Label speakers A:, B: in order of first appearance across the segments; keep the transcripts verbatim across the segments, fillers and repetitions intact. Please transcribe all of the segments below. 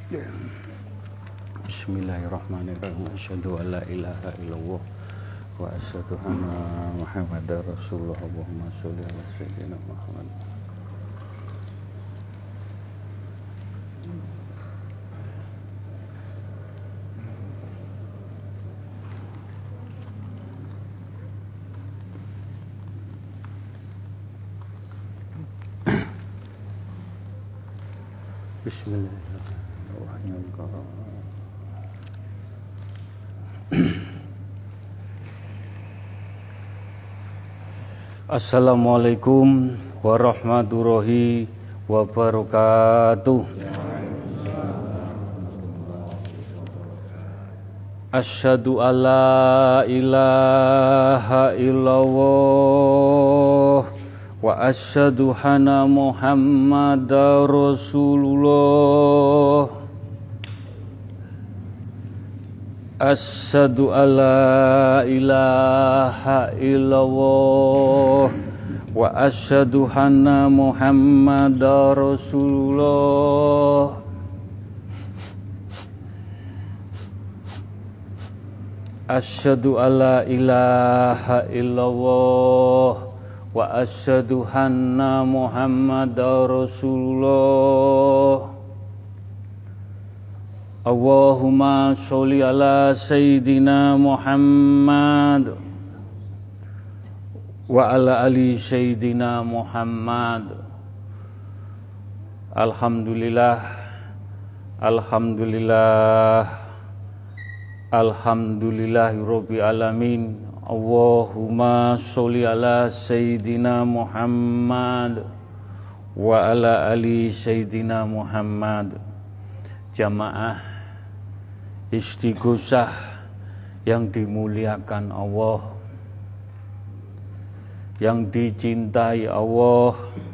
A: Bismillahirrahmanirrahim. Asyhadu an la ilaha illallah wa asyhadu anna Muhammadar Rasulullah. Allahumma sholli ala sayyidina Muhammad. Bismillahirrahmanirrahim. Assalamualaikum warahmatullahi wabarakatuh. Asyhadu alla ilaha illallah wa asyhadu anna Muhammadar Rasulullah. Asyhadu alla ilaha illallah wa asyhadu anna Muhammadar Rasulullah. Asyhadu alla ilaha illallah wa asyhadu anna Muhammadar Rasulullah. Allahumma sholli ala sayyidina Muhammad wa ala ali sayyidina Muhammad. Alhamdulillah, alhamdulillah, alhamdulillahirabbil alamin. Allahumma sholli ala sayyidina Muhammad wa ala ali sayyidina Muhammad. Jamaah istighosah yang dimuliakan Allah, yang dicintai Allah,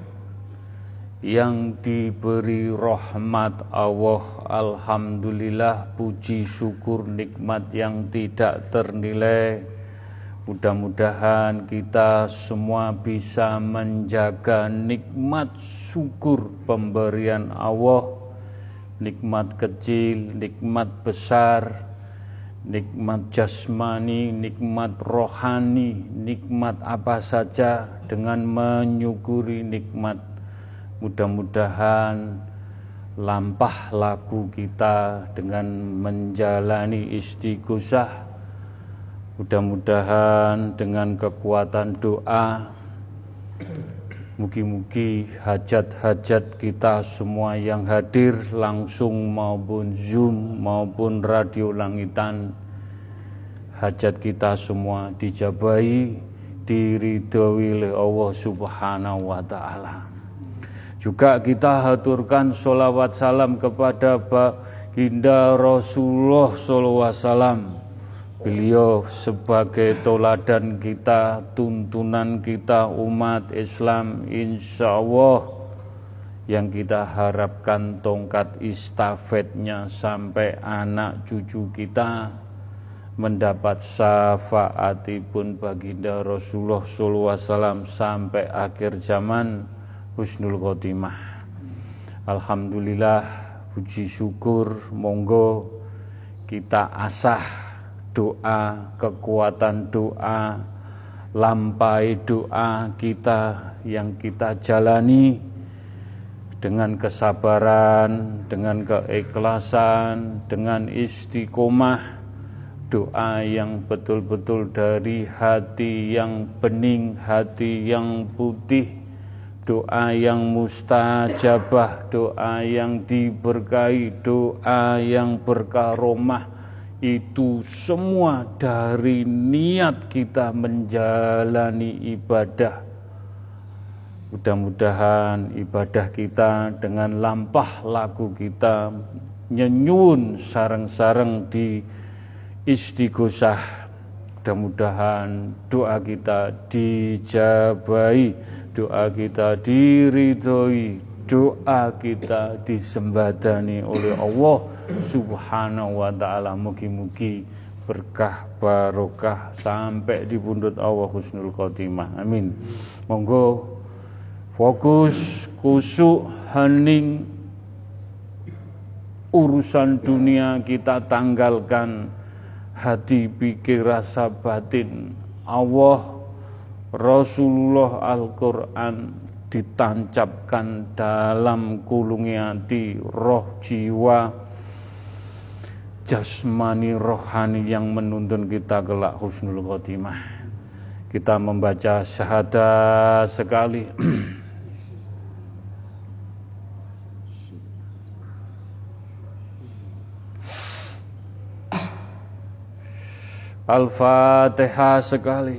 A: yang diberi rahmat Allah. Alhamdulillah, puji syukur nikmat yang tidak ternilai. Mudah-mudahan kita semua bisa menjaga nikmat syukur pemberian Allah. Nikmat kecil, nikmat besar, nikmat jasmani, nikmat rohani, nikmat apa saja, dengan menyukuri nikmat. Mudah-mudahan lampah laku kita dengan menjalani istighosah. Mudah-mudahan dengan kekuatan doa, mugi-mugi hajat-hajat kita semua yang hadir langsung maupun Zoom maupun radio langitan, hajat kita semua dijabahi, diridhoi oleh Allah Subhanahu wa taala. Juga kita haturkan sholawat salam kepada Baginda Rasulullah sallallahu alaihi wasallam. Beliau sebagai toladan kita, tuntunan kita umat Islam, insya Allah yang kita harapkan tongkat istafetnya sampai anak cucu kita mendapat syafaatipun baginda Rasulullah sallallahu alaihi wasallam sampai akhir zaman, husnul khotimah. Alhamdulillah, puji syukur, monggo kita asah doa, kekuatan doa, lampai doa kita yang kita jalani dengan kesabaran, dengan keikhlasan, dengan istiqomah. Doa yang betul-betul dari hati yang bening, hati yang putih, doa yang mustajabah, doa yang diberkahi, doa yang berkaromah. Itu semua dari niat kita menjalani ibadah. Mudah-mudahan ibadah kita dengan lampah laku kita nyenyun sareng-sareng di istighosah. Mudah-mudahan doa kita dijabahi, doa kita diridhoi, doa kita disembadani oleh Allah Subhanahu wa ta'ala. Mugi-mugi berkah barokah sampai di pundut Allah husnul khotimah. Amin. Monggo fokus, kusuk, hening urusan dunia kita tanggalkan, hati, pikir, rasa batin Allah, Rasulullah, Al-Quran ditancapkan dalam kulungi hati, roh, jiwa, jasmani, rohani yang menuntun kita kelak husnul khotimah. Kita membaca syahadat sekali. Al-Fatihah sekali.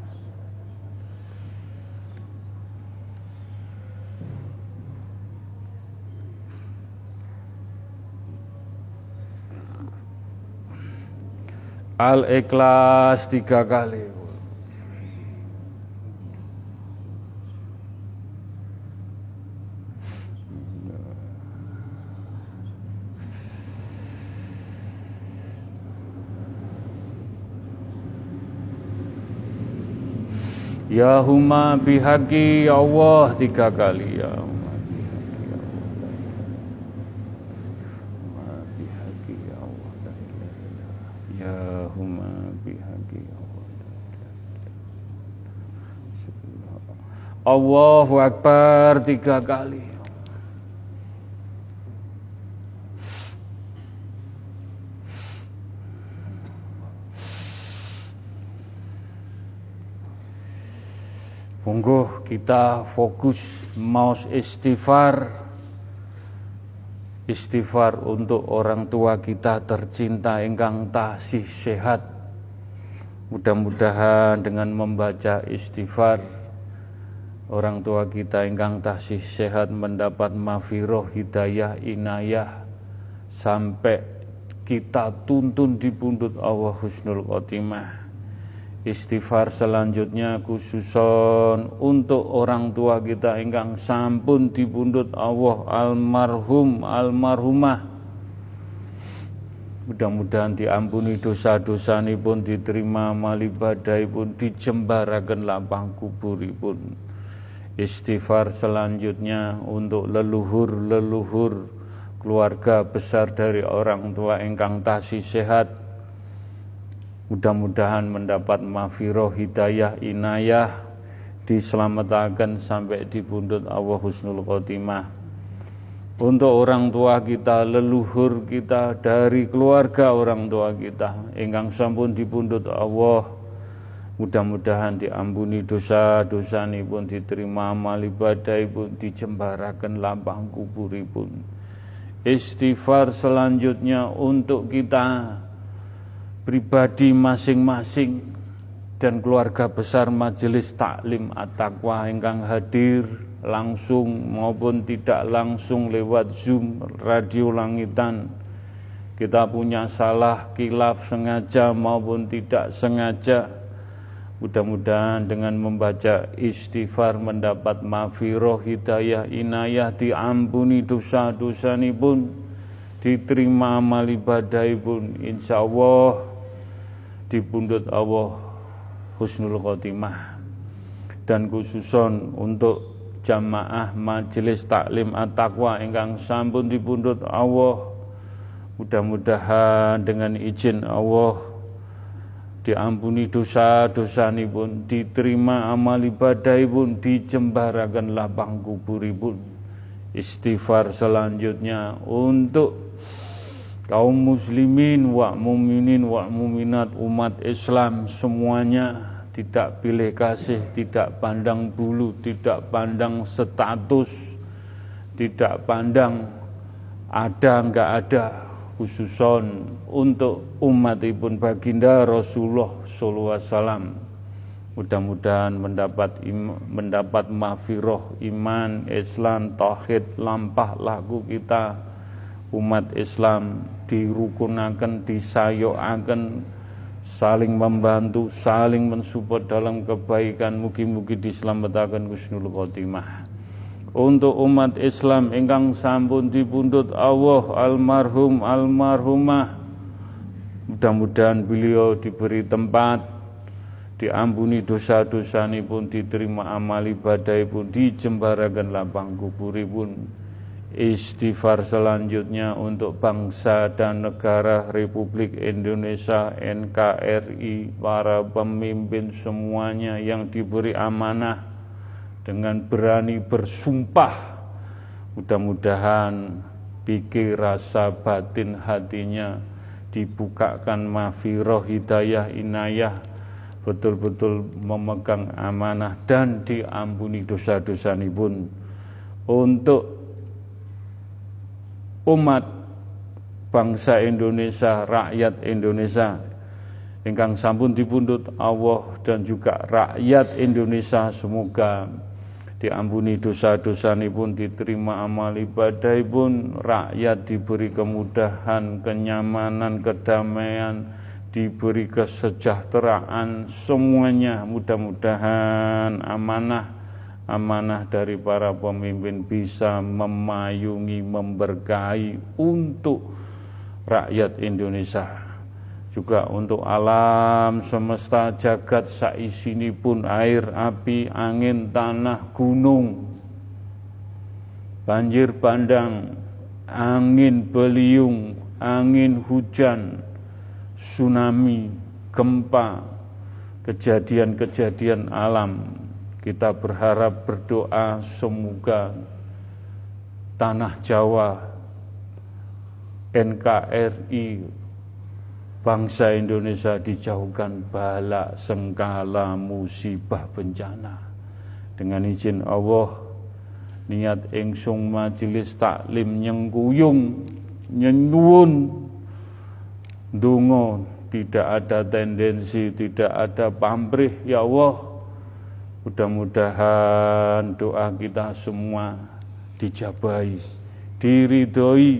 A: Al-Ikhlas tiga kali. Ya huma bihaqi Allah tiga kali. Ya huma bihaqi Allah. Ya huma bihaqi Allah. Allahu Akbar tiga kali. Monggo kita fokus maos istighfar. Istighfar untuk orang tua kita tercinta ingkang tasih sehat. Mudah-mudahan dengan membaca istighfar, orang tua kita ingkang tasih sehat mendapat maghfirah, hidayah, inayah, sampai kita tuntun di pundut Allah husnul khotimah. Istighfar selanjutnya khususon untuk orang tua kita ingkang sampun dipundhut Allah, almarhum almarhumah. Mudah-mudahan diampuni dosa-dosanipun, diterima amal ibadahipun, dijembaraken lapang kuburipun. Istighfar selanjutnya untuk leluhur-leluhur keluarga besar dari orang tua ingkang tasih sehat. Mudah-mudahan mendapat maghfirah, hidayah, inayah, diselamatkan sampai di pundut Allah husnul khotimah. Untuk orang tua kita, leluhur kita dari keluarga orang tua kita ingkang sampun di pundut Allah, mudah-mudahan diampuni dosa-dosanipun, diterima amal ibadahipun, dijembaraken lapang kuburipun. Istighfar selanjutnya untuk kita pribadi masing-masing dan keluarga besar Majelis Taklim At-Taqwa ingkang hadir langsung maupun tidak langsung lewat Zoom, radio langitan. Kita punya salah, khilaf, sengaja maupun tidak sengaja. Mudah-mudahan dengan membaca istighfar mendapat maghfirah, hidayah, inayah, diampuni dosa-dosanipun, diterima amal ibadahipun, insyaallah di pundut Allah husnul khotimah. Dan khususon untuk jamaah Majelis Taklim At-Taqwa ingkang sampun di pundut Allah, mudah-mudahan dengan izin Allah diampuni dosa-dosanipun, diterima amal ibadahipun, dijembaraken lapang kuburipun. Istighfar selanjutnya untuk kaum muslimin wa muminin wa muminat, umat Islam semuanya, tidak pilih kasih, tidak pandang bulu, tidak pandang status, tidak pandang ada enggak ada, khususon untuk umatipun baginda Rasulullah sallallahu alaihi wasallam. Mudah-mudahan mendapat im, mendapat maghfirah, iman, Islam, tauhid, lampah laku kita umat Islam dirukunaken, disayokaken, saling membantu, saling mensupport dalam kebaikan. Mugi-mugi diselamatkan husnul khotimah. Untuk umat Islam ingkang sampun dipundhut Allah, almarhum almarhumah, mudah-mudahan beliau diberi tempat, diampuni dosa-dosanipun, diterima amal ibadahipun, dijembaraken lapang kuburipun. Istighfar selanjutnya untuk bangsa dan negara Republik Indonesia, N K R I, para pemimpin semuanya yang diberi amanah dengan berani bersumpah. Mudah-mudahan pikir, rasa, batin hatinya dibukakan maghfirah, hidayah, inayah, betul-betul memegang amanah dan diampuni dosa-dosanipun untuk umat bangsa Indonesia, rakyat Indonesia ingkang sampun dipundhut Allah dan juga rakyat Indonesia, semoga diampuni dosa-dosanipun, diterima amal ibadahipun, rakyat diberi kemudahan, kenyamanan, kedamaian, diberi kesejahteraan, semuanya mudah-mudahan amanah amanah dari para pemimpin bisa memayungi, memberkahi untuk rakyat Indonesia, juga untuk alam semesta jagat saisinipun, air, api, angin, tanah, gunung, banjir bandang, angin beliung, angin hujan, tsunami, gempa, kejadian-kejadian alam. Kita berharap, berdoa semoga tanah Jawa, N K R I, bangsa Indonesia dijauhkan bala, sengkala, musibah, bencana. Dengan izin Allah, niat ingsun majelis taklim nyengkuyung, nyenyuwun, ndonga, tidak ada tendensi, tidak ada pamrih, ya Allah. Mudah-mudahan doa kita semua dijabahi, diridhoi,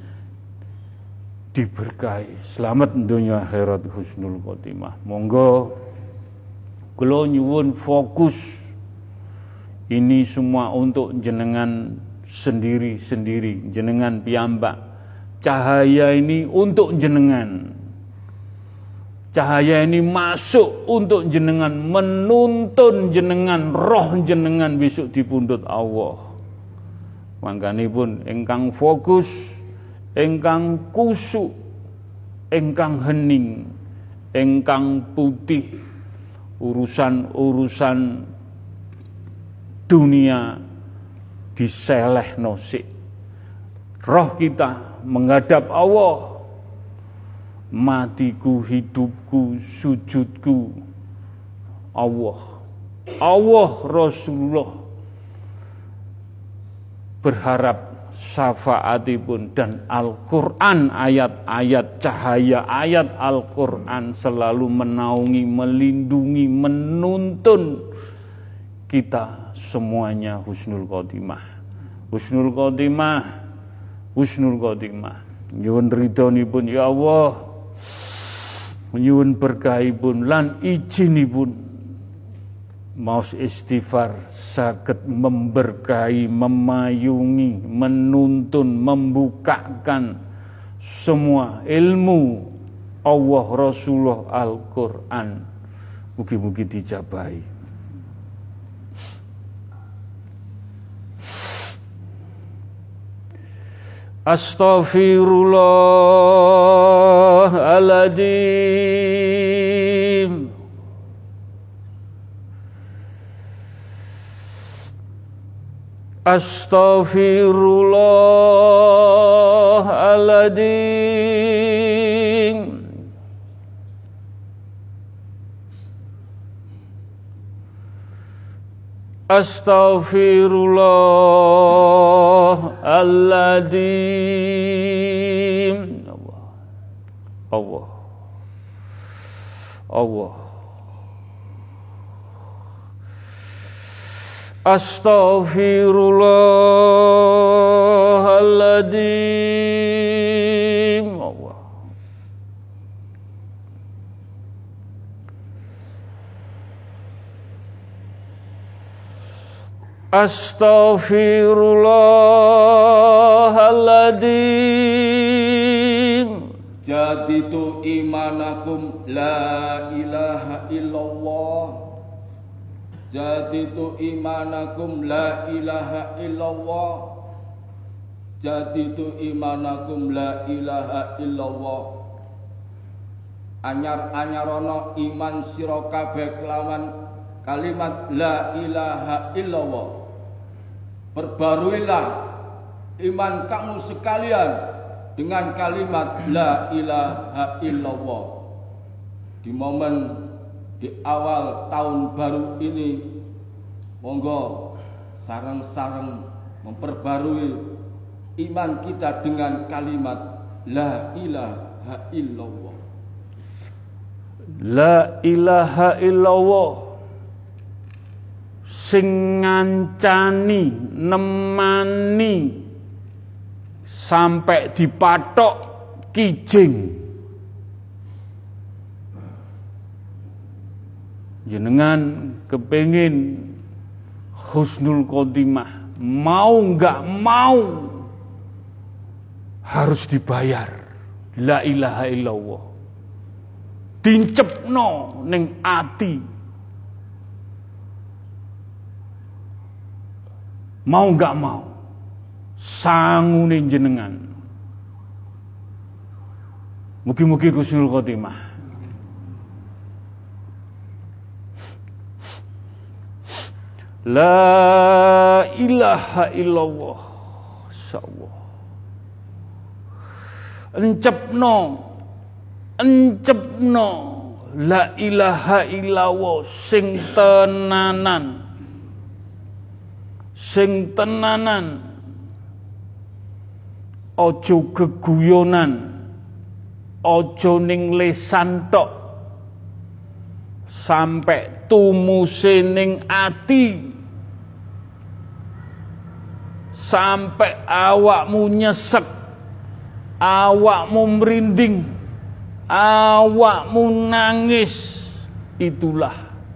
A: diberkahi. Selamat dunia akhirat husnul khotimah. Monggo kula nyuwun fokus. Ini semua untuk jenengan sendiri-sendiri, jenengan piyambak. Cahaya ini untuk jenengan. Cahaya ini masuk untuk jenengan, menuntun jenengan, roh jenengan besok dipundhut Allah. Mangkanipun ingkang fokus, ingkang kusuk, ingkang hening, ingkang putih, urusan-urusan dunia diselehno sik. Roh kita menghadap Allah. Matiku, hidupku, sujudku Allah. Allah, Rasulullah berharap syafaatipun dan Al-Quran, ayat-ayat cahaya ayat Al-Quran selalu menaungi, melindungi, menuntun kita semuanya husnul khotimah. Husnul khotimah, husnul khotimah. Nyuwun ridhonipun ya Allah, nyuwun berkahipun lan izinipun maos istighfar saged memberkahi, memayungi, menuntun, membukakan semua ilmu Allah, Rasulullah, Al-Quran. Mugi-mugi dijabahi. Astaghfirullahaladzim. Astaghfirullahaladzim. Astaghfirullahaladzim. Allah, Allah, astaghfirullahaladzim. Allah, astaghfirullahaladzim.
B: Jaditu imanakum la ilaha illallah. Jaditu imanakum la ilaha illallah. jaditu imanakum la ilaha illallah. Anyar-anyarono iman sira kabeh kelawan kalimat la ilaha illallah. Perbaruilah iman kamu sekalian dengan kalimat la ilaha illallah. Di momen di awal tahun baru ini, monggo sareng-sareng memperbarui iman kita dengan kalimat la ilaha illallah.
A: La ilaha illallah sing ngancani nemani sampai dipatok kijing. Jenengan kepengin husnul khotimah, mau nggak mau harus dibayar la ilaha illallah. Dincepno ning ati. Mau nggak mau sangune jenengan. Mugi-mugi husnul khotimah. La ilaha illallah. Insyaallah. Encepno, encepno la ilaha illallah sing tenanan. Sing tenanan. Ojo geguyonan. Ojo ning lesan tok. Sampai tumuse ning ati. Sampai awakmu nyesek, awakmu merinding, awakmu nangis. Itulah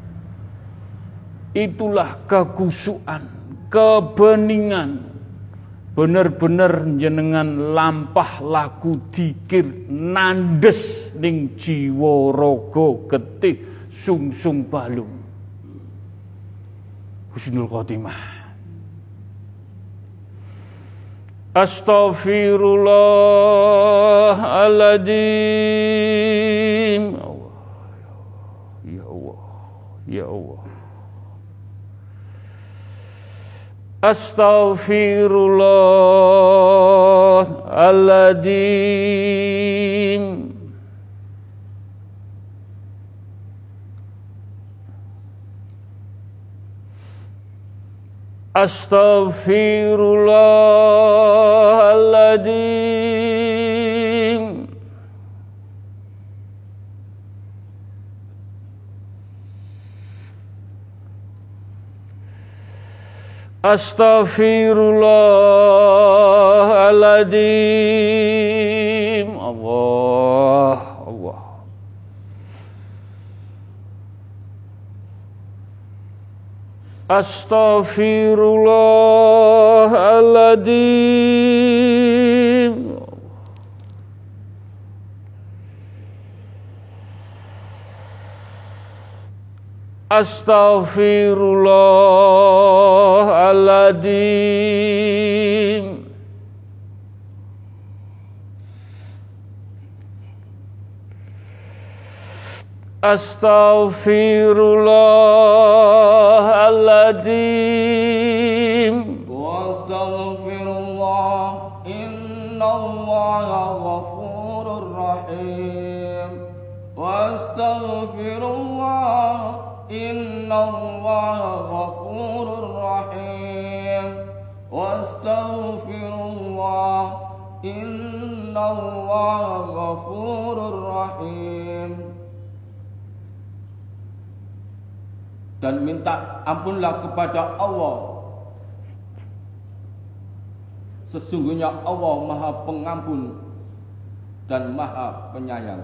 A: itulah kekusukan, kebeningan. Bener-bener jenengan lampah laku dikir nandes ning jiwa raga getih sungsung balung. Husnul khotimah. Astaghfirullahaladzim. Ya Allah, ya Allah. Astaghfirullahaladzim. Astaghfirullahaladzim. Astaghfirullahaladzim. Allah, Allah. Astaghfirullahaladzim. Astaghfirullahaladzim. Astaghfirullahaladzim.
B: Wastaghfirullah, innallaha ghafurur rahim. Wastaghfirullah, innallaha ghafurur rahim. Wastaghfirullah, innallaha ghafurur rahim. Dan minta ampunlah kepada Allah. Sesungguhnya Allah Maha Pengampun dan Maha Penyayang.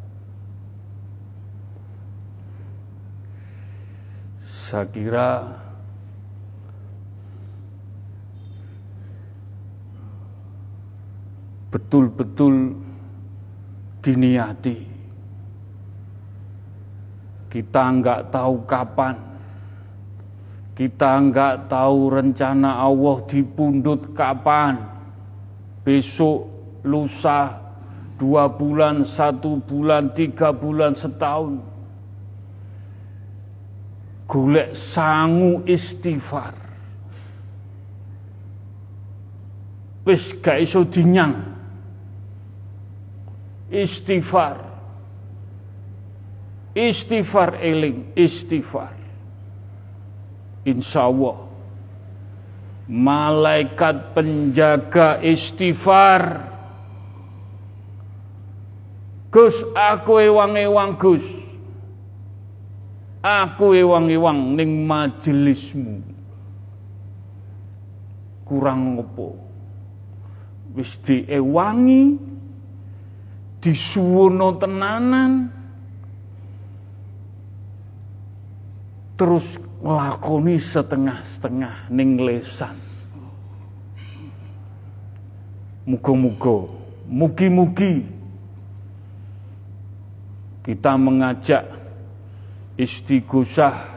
A: Saya kira betul-betul diniati. Kita enggak tahu kapan, kita enggak tahu rencana Allah dipundhut kapan. besok, lusa, dua bulan, satu bulan, tiga bulan, setahun. Golek sangu istighfar. Wis gak iso dinyang. Istighfar. Istighfar eling, istighfar. Insya Allah malaikat penjaga istighfar. Gus, aku ewang-ewang Gus. Aku ewang-ewang ning majelismu. Kurang ngopo? Wis diewangi, disuwono tenanan, terus nglakoni setengah-setengah ning lesan. Muga-muga, mugi-mugi kita mengajak istighosah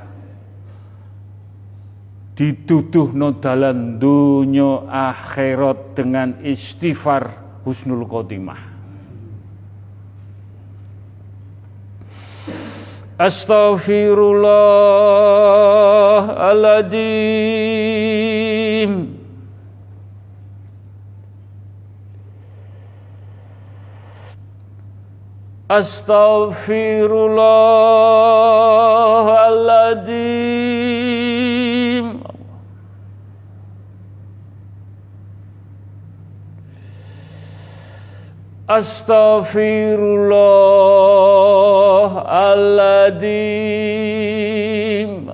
A: dituduhno dalan dunya akhirat dengan istighfar husnul khotimah. Astaghfirullahaladzim. Astaghfirullahaladzim. Astaghfirullahaladzim.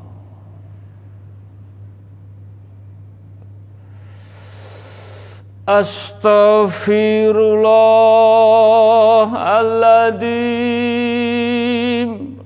A: Astaghfirullahaladzim.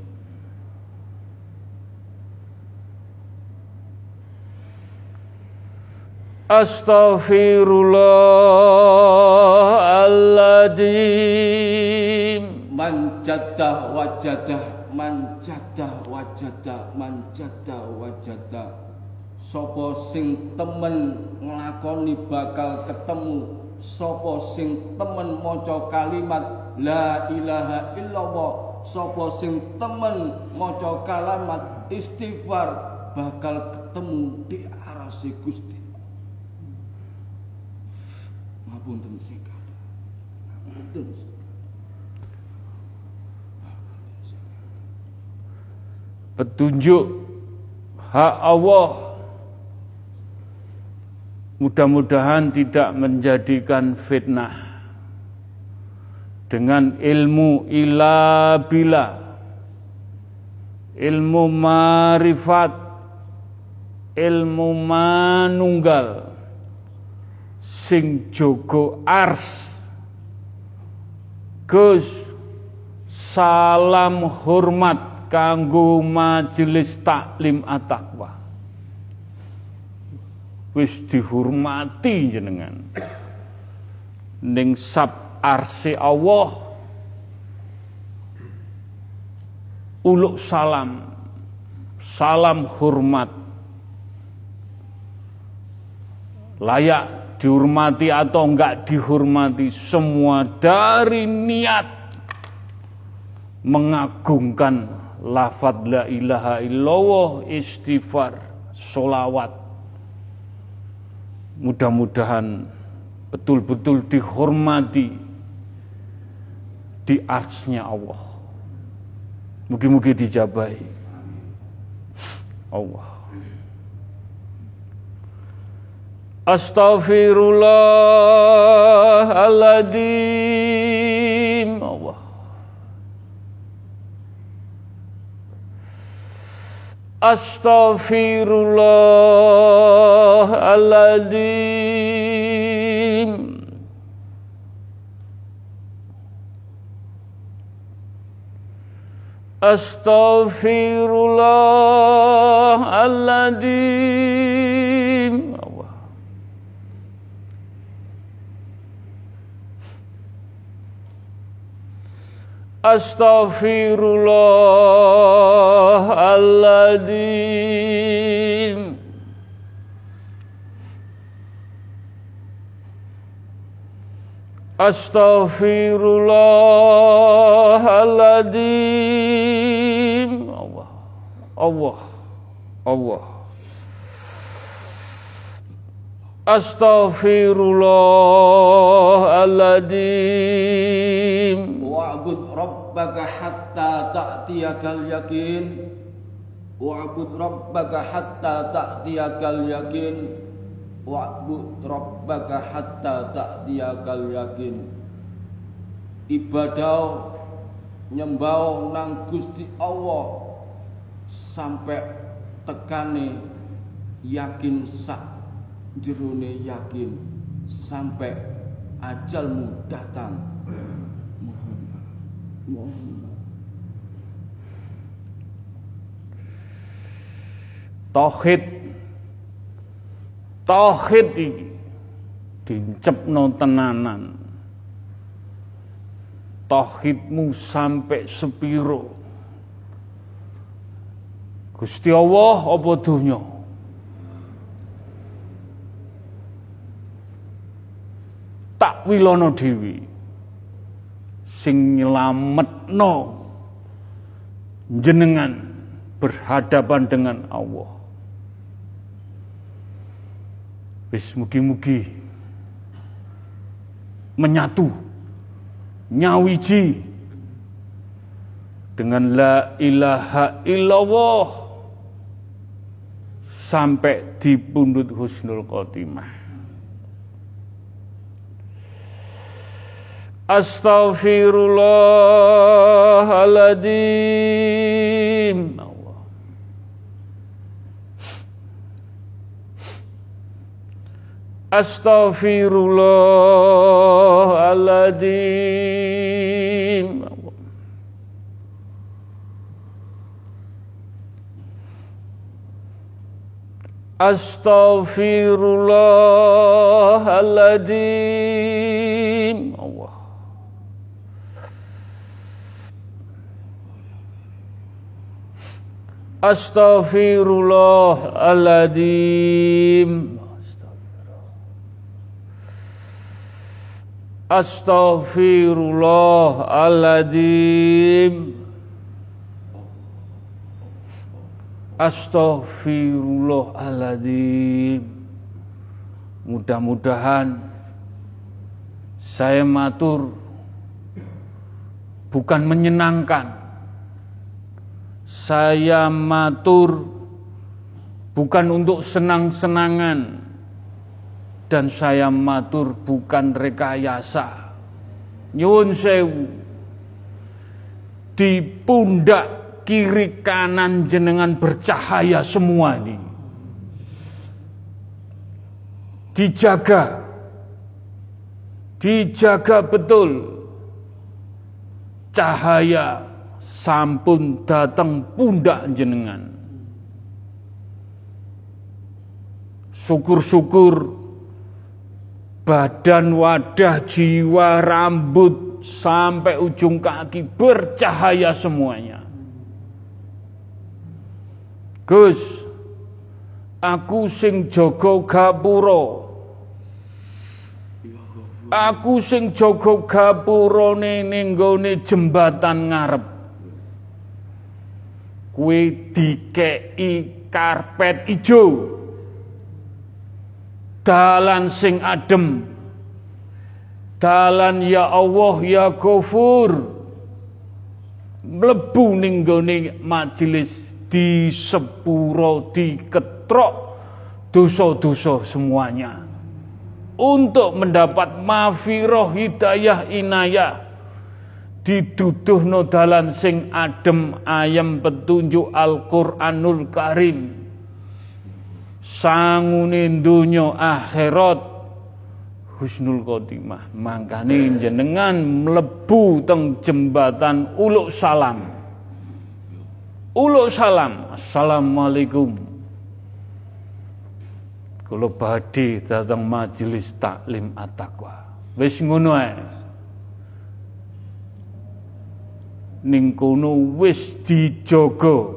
A: Astaghfirullahaladzim.
B: Man jaddah wajadah, man jaddah wajadah, man jaddah wajadah. Sapa sing temen nglakoni bakal ketemu, sapa sing temen maca kalimat la ilaha illallah, sapa sing temen maca kalimat istighfar bakal ketemu di arase Gusti. Ngapunten sikap. Ngapunten.
A: Petunjuk hak Allah mudah-mudahan tidak menjadikan fitnah. Dengan ilmu ila bila, ilmu marifat, ilmu manunggal, sing jogo ars. Gus, salam hormat kanggo majelis taklim at-taqwa. Wis dihormati jenengan ning sab arse Allah. Uluk salam, salam hormat, layak dihormati atau enggak dihormati, semua dari niat mengagungkan lafadz la ilaha illallah, istighfar, sholawat. Mudah-mudahan betul-betul dihormati di arsy-Nya Allah. Mugi-mugi dijabahi Allah. Astaghfirullahaladzim. Allah. Astaghfirullahaladzim. Astaghfirullahaladzim. Allah. Astaghfirullahaladzim. Astaghfirullahaladzim. Allah, Allah, Allah. Astaghfirullahaladzim.
B: Wa'bud rabbaka hatta ta'tiyakal yakin. Wa'bud rabbaka hatta ta'tiyakal yakin. Wa'bud rabbaka hatta ta'tiyakal yakin. Ibadah nyembah nang Gusti Allah sampai tekane yakin sak jerone yakin sampai ajalmu datang. Muhammad, Muhammad.
A: Tauhid, tauhid iki dicepno tenanan. Tauhidmu sampai sepiro? Gusti Allah apa dunya? Tak wilono dewi sing nyelametno jenengan berhadapan dengan Allah. Wis mugi-mugi menyatu nyawiji dengan la ilaha illallah sampai di pundut husnul khotimah. Astaghfirullahaladzim. Allah. Astaghfirullahaladzim. Allah. Astaghfirullahaladzim. Allah. Astaghfirullahaladzim. Astaghfirullahaladzim. Astaghfirullahaladzim. Mudah-mudahan saya matur bukan menyenangkan. Saya matur bukan untuk senang-senangan, dan saya matur bukan rekayasa. Nyuwun sewu, di pundak kiri kanan jenengan bercahaya semua ini. Dijaga, dijaga betul cahaya sampun datang pundak jenengan. Syukur-syukur badan, wadah, jiwa, rambut sampai ujung kaki bercahaya semuanya. Gus, aku sing jaga gapura. Aku sing jaga gapurane ning nggone jembatan ngarep. Kuwi dikei karpet ijo, dalan sing adem, dalan ya Allah ya Ghafur, mlebu ning nggone majelis di sepuro diketrok dosa-dosa semuanya untuk mendapat maghfirah hidayah inayah. Diduduhno dalan sing adem ayem petunjuk Al-Qur'anul Karim. Sangune donya akhirat husnul khotimah. Mangkane jenengan mlebu teng jembatan Uluk Salam. Uluk Salam. Assalamualaikum. Kula badhe dateng majelis taklim at-taqwa. Wis ngono ae. Ning kono wis dijaga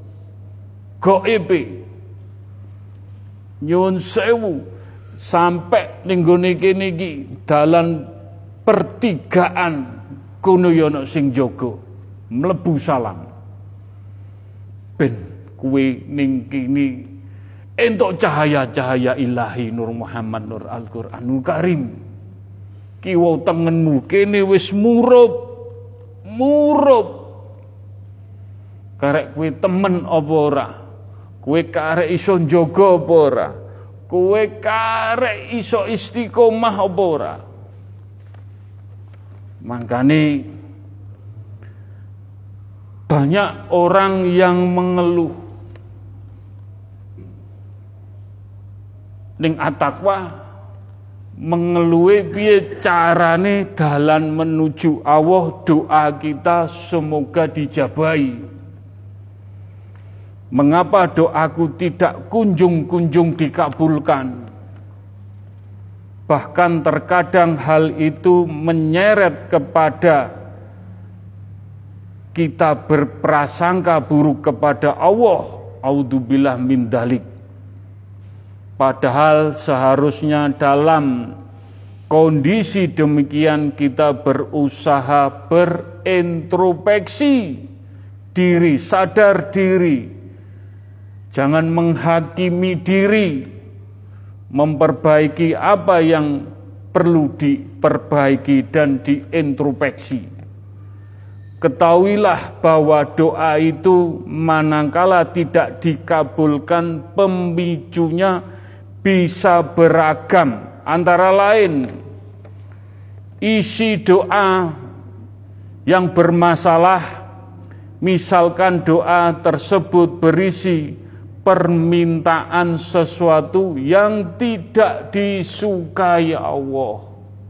A: gaibe. Nyuwun sewu sampai ning gone kene iki dalan pertigaan kono yono sing jaga mlebu salam ben kuwi ning kini entuk cahaya-cahaya ilahi Nur Muhammad Nur Al-Qur'anul Karim. Kiwa tengenmu kene wis murup murup karek kuwi temen apa ora, kuwi karek iso njaga apa ora, kuwi karek iso istiqomah apa ora. Makane banyak orang yang mengeluh ning at-taqwa, mengeluhi piye carane dalan menuju Allah, doa kita semoga dijabahi. Mengapa doaku tidak kunjung-kunjung dikabulkan? Bahkan terkadang hal itu menyeret kepada kita berprasangka buruk kepada Allah. A'udzubillah min dzalik. Padahal seharusnya dalam kondisi demikian kita berusaha berintrospeksi diri, sadar diri. Jangan menghakimi diri, memperbaiki apa yang perlu diperbaiki dan diintrospeksi. Ketahuilah bahwa doa itu manakala tidak dikabulkan, pemicunya bisa beragam, antara lain isi doa yang bermasalah, misalkan doa tersebut berisi permintaan sesuatu yang tidak disukai Allah.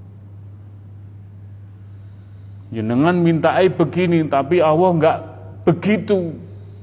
A: Jenengan mintai begini tapi Allah enggak begitu.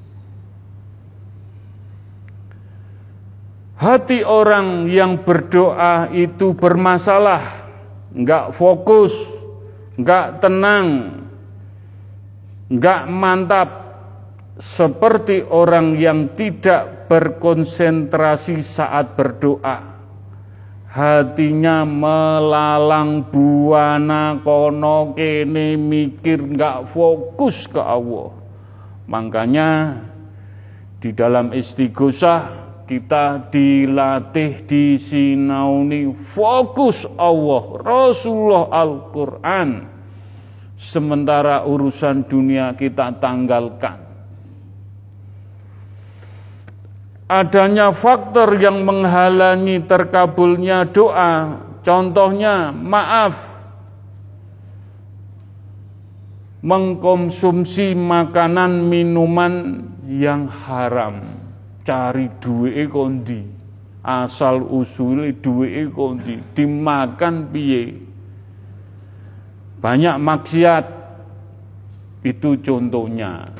A: Hati orang yang berdoa itu bermasalah, enggak fokus, enggak tenang, enggak mantap, seperti orang yang tidak berkonsentrasi saat berdoa. Hatinya melalang buana kono kene, mikir, enggak fokus ke Allah. Makanya di dalam istighosah kita dilatih, disinauni fokus Allah, Rasulullah, Al-Quran. Sementara urusan dunia kita tanggalkan. Adanya faktor yang menghalangi terkabulnya doa, contohnya maaf, mengkonsumsi makanan minuman yang haram. Cari duwe kondi, asal usule duwe kondi, dimakan piye. Banyak maksiat, itu contohnya.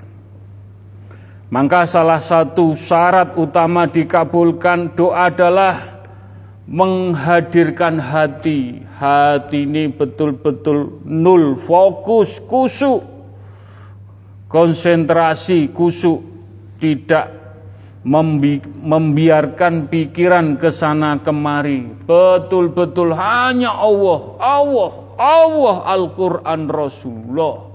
A: Maka salah satu syarat utama dikabulkan doa adalah menghadirkan hati. Hati ini betul-betul nul, fokus, kusuk, konsentrasi, kusuk, tidak Membi membiarkan pikiran ke sana kemari, betul-betul hanya Allah, Allah, Allah, Al-Quran, Rasulullah.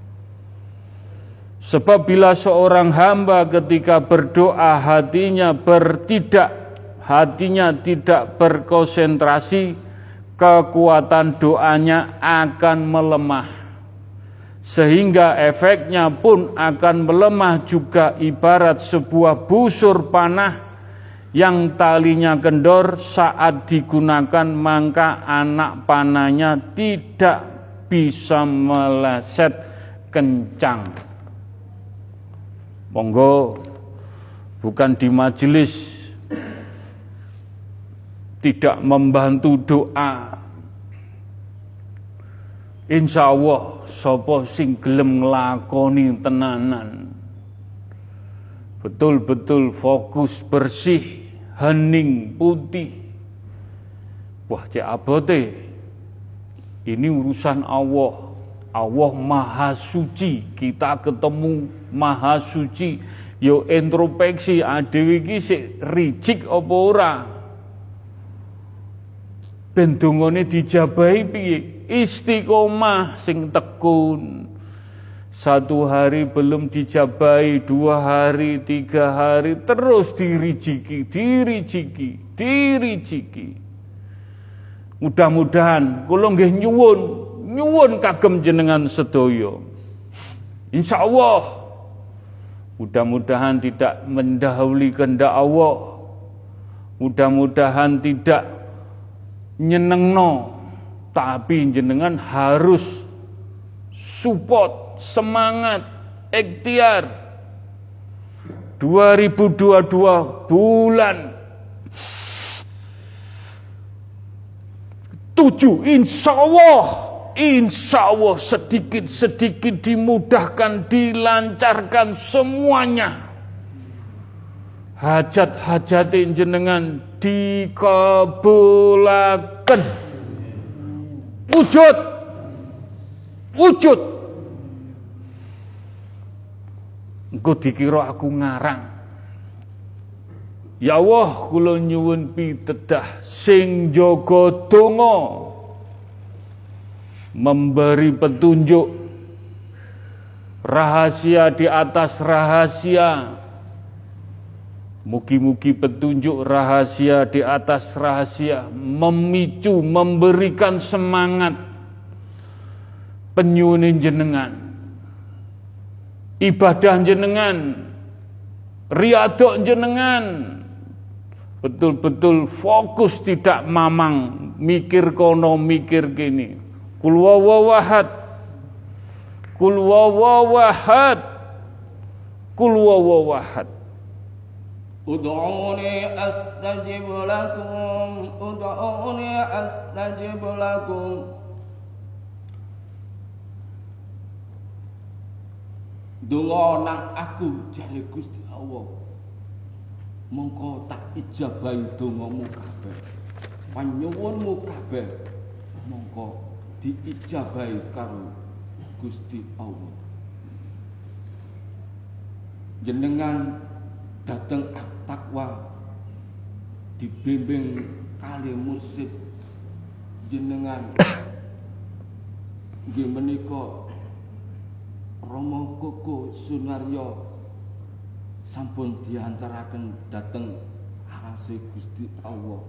A: Sebab bila seorang hamba ketika berdoa hatinya bertidak, hatinya tidak berkonsentrasi, kekuatan doanya akan melemah. Sehingga efeknya pun akan melemah juga, ibarat sebuah busur panah yang talinya kendor saat digunakan, maka anak panahnya tidak bisa meleset kencang. Monggo bukan di majelis tidak membantu doa. Insya Allah sapa sing gelem nglakoni tenanan, betul-betul fokus, bersih, hening, putih. Wah, cek abote. Ini urusan Allah. Allah Maha Suci. Kita ketemu Maha Suci. Yo introspeksi adewe iki sik rijik apa ora? Ben dongane dijabahi piye? istiqomah sing tekun. Satu hari belum dijabai, dua hari, tiga hari, terus dirijiki, dirijiki, dirijiki. Mudah-mudahan kula nggih nyuwun, nyuwun kagem jenengan sedaya. Insyaallah mudah-mudahan tidak mendahului kehendak Allah. Mudah-mudahan tidak nyenengno, tapi jenengan harus support, semangat, ikhtiar. dua ribu dua puluh dua bulan tujuh, insya Allah, insya Allah sedikit-sedikit dimudahkan, dilancarkan semuanya. Hajat-hajat jenengan dikabulaken. Wujud, wujud. Engko dikira aku ngarang. Ya Allah, kula nyuwun pitedah sing jaga donga, memberi petunjuk rahasia di atas rahasia. Mugi-mugi petunjuk rahasia di atas rahasia memicu, memberikan semangat penyuwun jenengan, ibadah jenengan, riyadhah jenengan, betul-betul fokus, tidak mamang mikir kono mikir kini. Kul wawahad, kul wawahad, kul wawahad.
B: Ud'uni astajib lakum, ud'uni astajib lakum. Donga nang aku jare Gusti Allah, mongko tak ijabahi dongamu kabeh. Panyuwunmu kabeh mongko diijabahi karo Gusti Allah. Jenengan dateng At-Taqwa dibimbing kali mursyid jenengan nggih menika Romo Koko Sunaryo sampun diantaraken dateng arase Gusti Allah.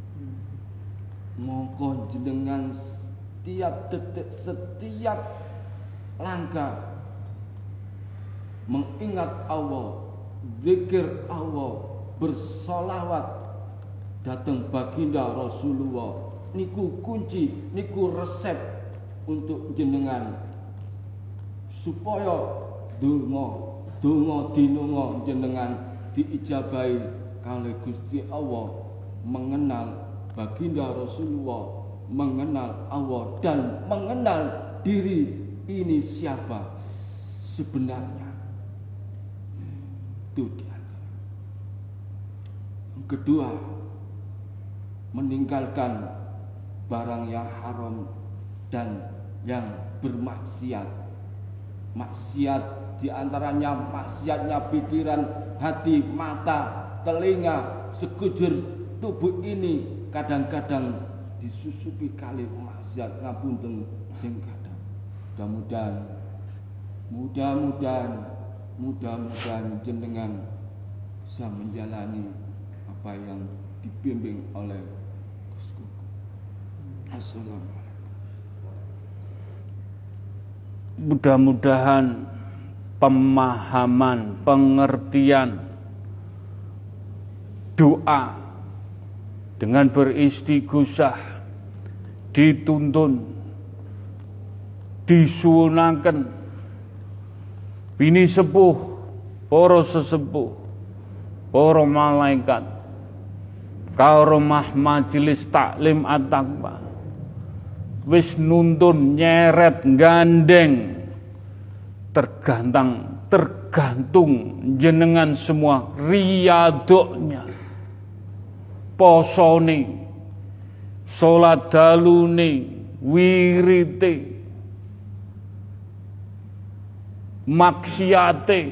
B: Mongko jenengan setiap detik, setiap langkah mengingat Allah, zikir Allah, bersolawat datang baginda Rasulullah. Niku kunci, niku resep untuk jenengan supaya donga donga dinunga jenengan diijabahi kalih Gusti Allah, mengenal baginda Rasulullah, mengenal Allah dan mengenal diri ini siapa sebenarnya. Itu dia. Yang kedua, meninggalkan barang yang haram dan yang bermaksiat. Maksiat diantaranya maksiatnya pikiran, hati, mata, telinga, sekujur tubuh ini kadang-kadang disusupi kali maksiat, ngapunten sing kadang. Mudah-mudahan, mudah-mudahan, mudah-mudahan jenengan bisa menjalani apa yang dibimbing oleh Gusku. Assalamualaikum.
A: Mudah-mudahan pemahaman, pengertian doa dengan beristighosah dituntun, disuwunaken bini sepuh, para sesepuh, para malaikat, karomah majelis taklim at-taqwa wis nuntun, nyeret, gandeng, tergantung tergantung jenengan semua, riyadhahnya, posone, salat dalune, wirite, maksiate,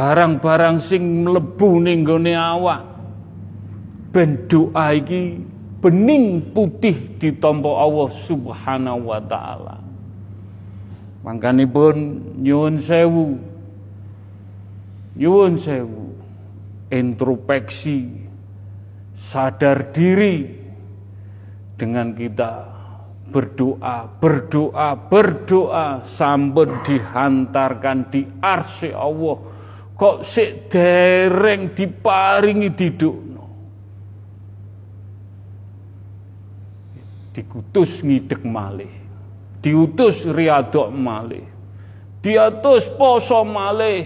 A: barang-barang sing mlebu ning gone awak, ben doa iki bening putih ditampa Allah Subhanahu wa taala. Mangkanipun nyuwun sewu, nyuwun sewu, introspeksi, sadar diri dengan kita berdoa, berdoa, berdoa sampun dihantarkan di arsy Allah. Kok sik dereng diparingi didukno. Dikutus ngidek malih. Diutus riyadhok malih. Diutus poso malih.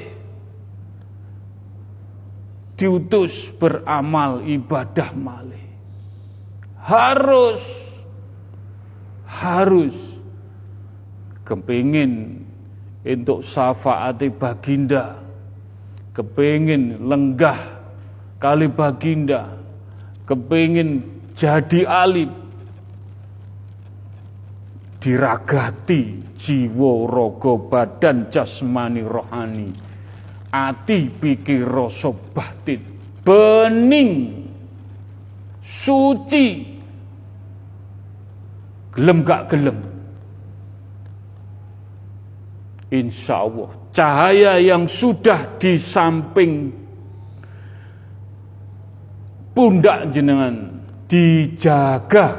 A: Diutus beramal ibadah malih. Harus harus kepingin untuk syafaati baginda, kepingin lenggah kali baginda, kepingin jadi alim, diragati jiwa raga badan jasmani rohani, ati pikir rasa batin bening suci, gelem gak gelem, insya Allah cahaya yang sudah di samping pundak jenengan dijaga,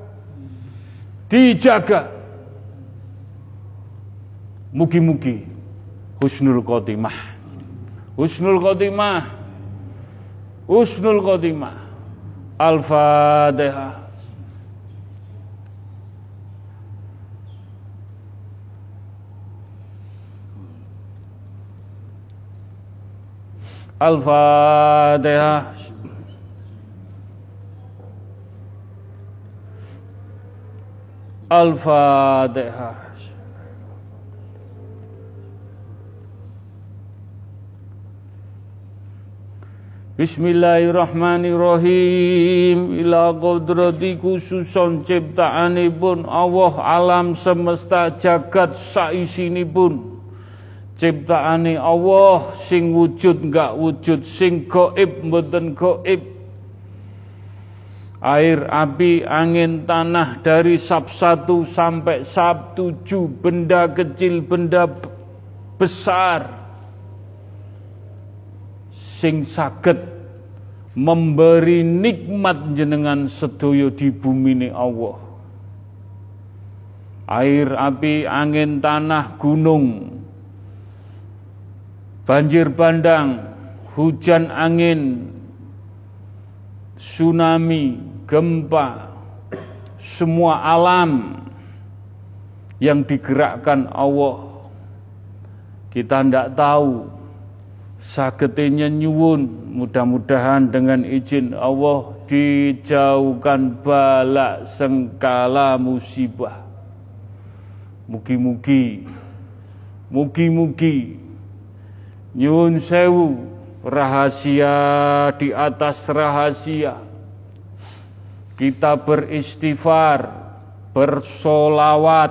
A: dijaga. Mugi-mugi husnul khotimah, husnul khotimah, husnul khotimah. Al-Fatihah. Al-Fatihah. Al-Fatihah. Bismillahirrahmanirrahim. Ila qadrati khususon ciptaanipun Allah alam semesta jagat saisinipun. Ciptaane Allah sing wujud enggak wujud, sing gaib mboten gaib. Air, api, angin, tanah dari sab satu sampai sab tujuh, benda kecil, benda besar, sing saged memberi nikmat jenengan sedaya di bumi Allah. Air, api, angin, tanah, gunung, banjir bandang, hujan angin, tsunami, gempa, semua alam yang digerakkan Allah. Kita tidak tahu, sagetinya nyuwun, mudah-mudahan dengan izin Allah dijauhkan bala sengkala musibah. Mugi-mugi, mugi-mugi, nyuwun sewu, rahasia di atas rahasia. Kita beristighfar, bersolawat,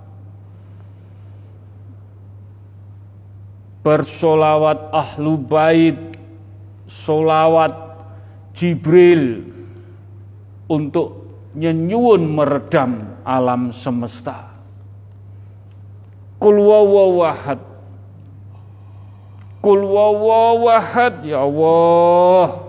A: bersolawat ahlu bait, solawat Jibril untuk nyenyuwun meredam alam semesta. Qul huwallahu ahad, Qul huwallahu ahad, ya Allah.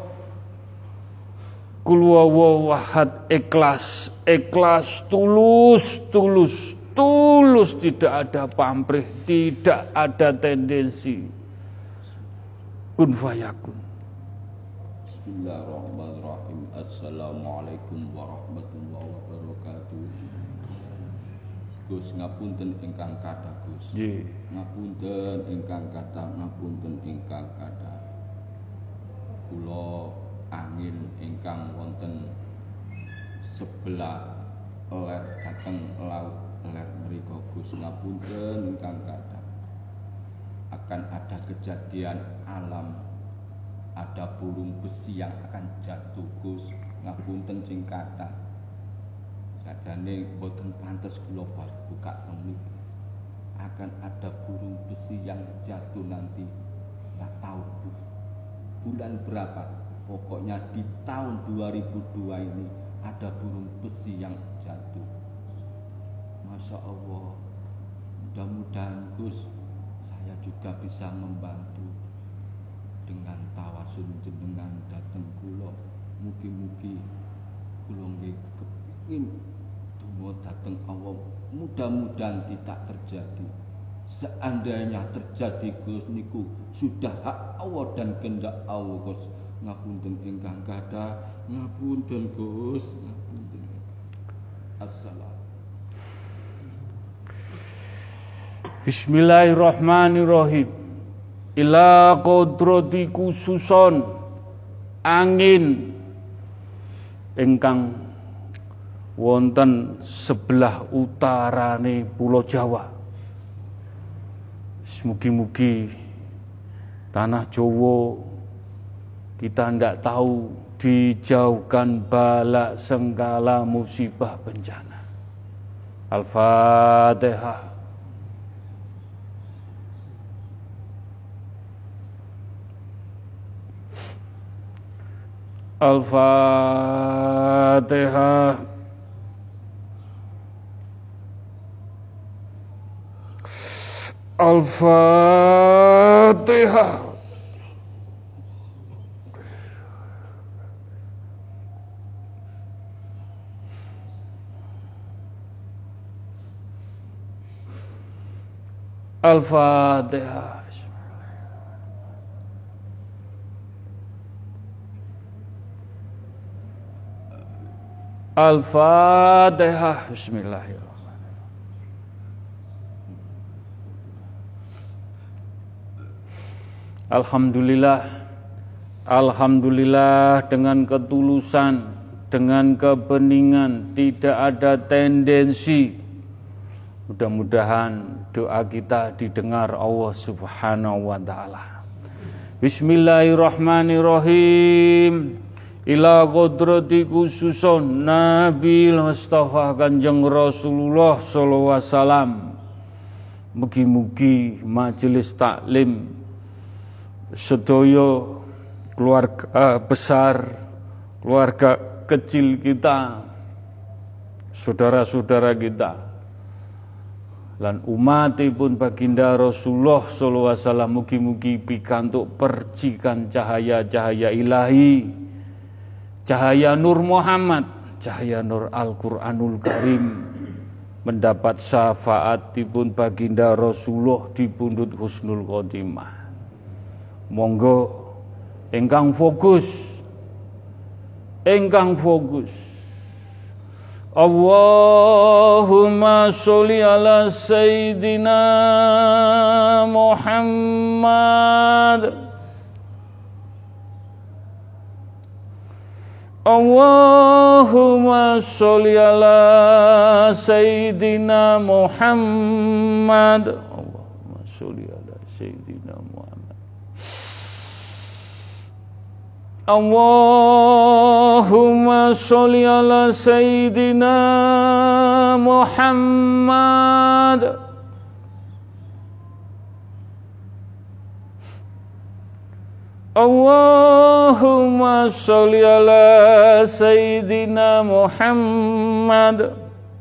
A: Qul huwallahu ahad, ikhlas, ikhlas, tulus, tulus, tulus, tidak ada pamrih, tidak ada tendensi. Kun fayakun.
B: Bismillahirrahmanirrahim. Assalamualaikum warahmatullahi wabarakatuh. Gus ngapunten ingkang kathah Gus.
A: Nggih.
B: Ngapunten ingkang kathah, ngapunten ingkang kathah. Kula angin ingkang wonten sebelah ler dhateng laut ler mriku Gus ngapunten ingkang kathah. Akan ada kejadian alam, ada burung besi yang akan jatuh Gus ngapunten sing kathah. Sajane boten pantes kula buka teng niki. Akan ada burung besi yang jatuh nanti, nggak tahu bulan berapa. Pokoknya di tahun dua ribu dua ini ada burung besi yang jatuh. Masya Allah, mudah-mudahan Gus, saya juga bisa membantu dengan tawasul jenengan dateng kula. Mugi-mugi kula nggih kepengin donga dateng Allah, mudah-mudahan tidak terjadi. Seandainya terjadi Gus niku sudah hak Allah dan kehendak Allah Gus. Ngapunten ingkang kathah, ngapunten Gus, ngapunten. Assalam.
A: Bismillahirrahmanirrahim. Ila qadrati khususon angin ingkang wonten sebelah utarane Pulau Jawa. Mugi-mugi tanah Jawa kita ndak tahu dijauhkan bala sengkala musibah bencana. Al-Fatihah. Al-Fatihah. Al-Fatihah. Al-Fatihah. Al-Fatihah. Bismillahirrahmanirrahim. Alhamdulillah, Alhamdulillah dengan ketulusan, dengan kebeningan, tidak ada tendensi. Mudah-mudahan doa kita didengar Allah Subhanahu wa Ta'ala. Bismillahirrahmanirrahim. Ila qadrati khususon Nabi Mustafa Kanjeng Rasulullah sallallahu alaihi wasallam. Mugi-mugi majelis taklim sedaya keluarga besar, keluarga kecil kita, saudara-saudara kita, lan umatipun baginda Rasulullah sallallahu alaihi wasallam mugi-mugi pikantuk percikan cahaya-cahaya ilahi, cahaya Nur Muhammad, cahaya Nur Al-Quranul Karim, mendapat syafaatipun baginda Rasulullah di pundut husnul khotimah. Monggo engkang fokus, engkang fokus. Allahumma sholli ala Sayyidina Muhammad. Allahumma sholli ala Sayyidina Muhammad. Allahumma sholli ala Sayyidina Muhammad. Allahumma sholli ala Sayyidina Muhammad. Allahumma sholli ala Sayyidina Muhammad.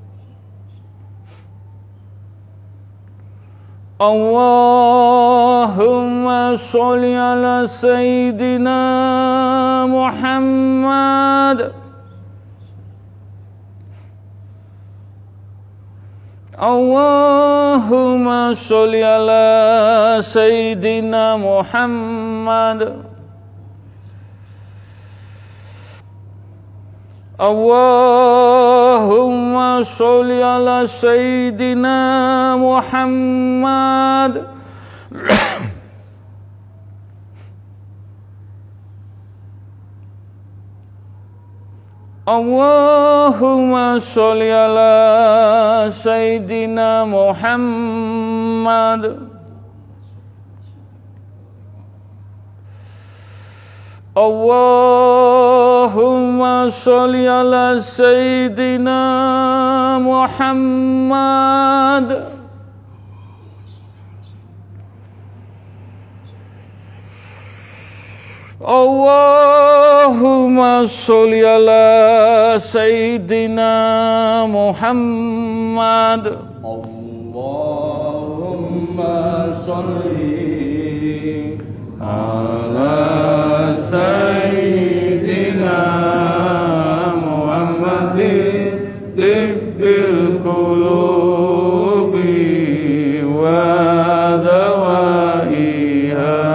A: Allahumma sholli ala Sayyidina Muhammad. Allahumma sholli ala Sayyidina Muhammad. Allahumma sholli ala Sayyidina Muhammad. Allahumma sholli ala Sayyidina Muhammad. Allahumma sholli ala Sayyidina Muhammad. Allah Allahumma sholli ala Sayyidina Muhammad.
B: Allahumma sholli
A: ala Sayyidina Muhammadin tibbil qulubi wa dawaiha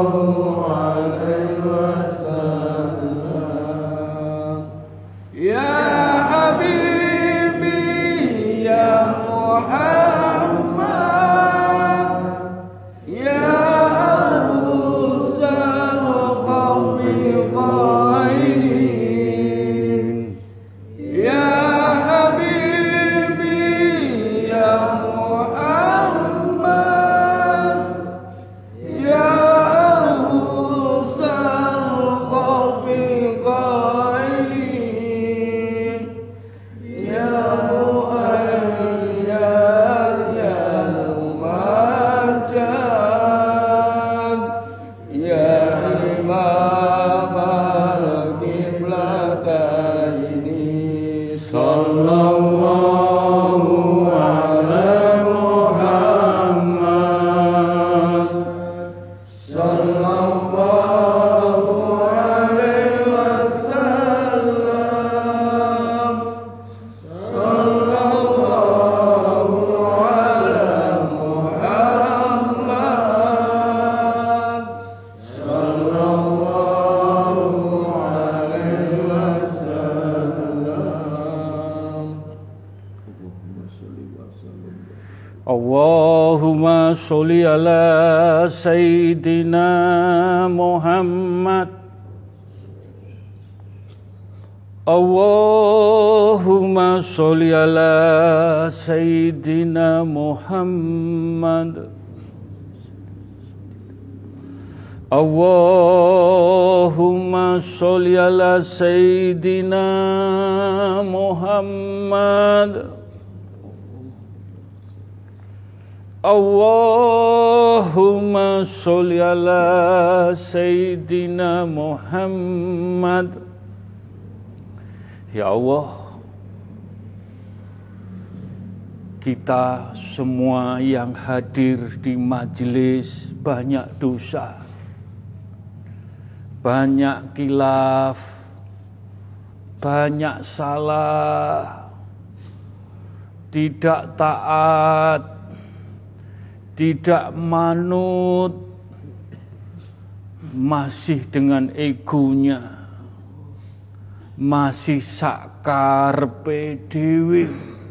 B: Ya imam al-qiblataini sallallahu ala Muhammad sallallahu alaihi wasallam sallallahu ala Muhammad sallallahu alaihi wasallam.
A: Allahumma sholli ala Sayyidina Muhammad. Allahumma sholli ala Sayyidina Muhammad. Allahumma sholli ala Sayyidina Muhammad. Allahumma sholli ala Sayyidina Muhammad. Ya Allah, kita semua yang hadir di majelis banyak dosa, banyak khilaf, banyak salah, tidak taat, tidak manut, masih dengan egonya, masih sakarpe dewe.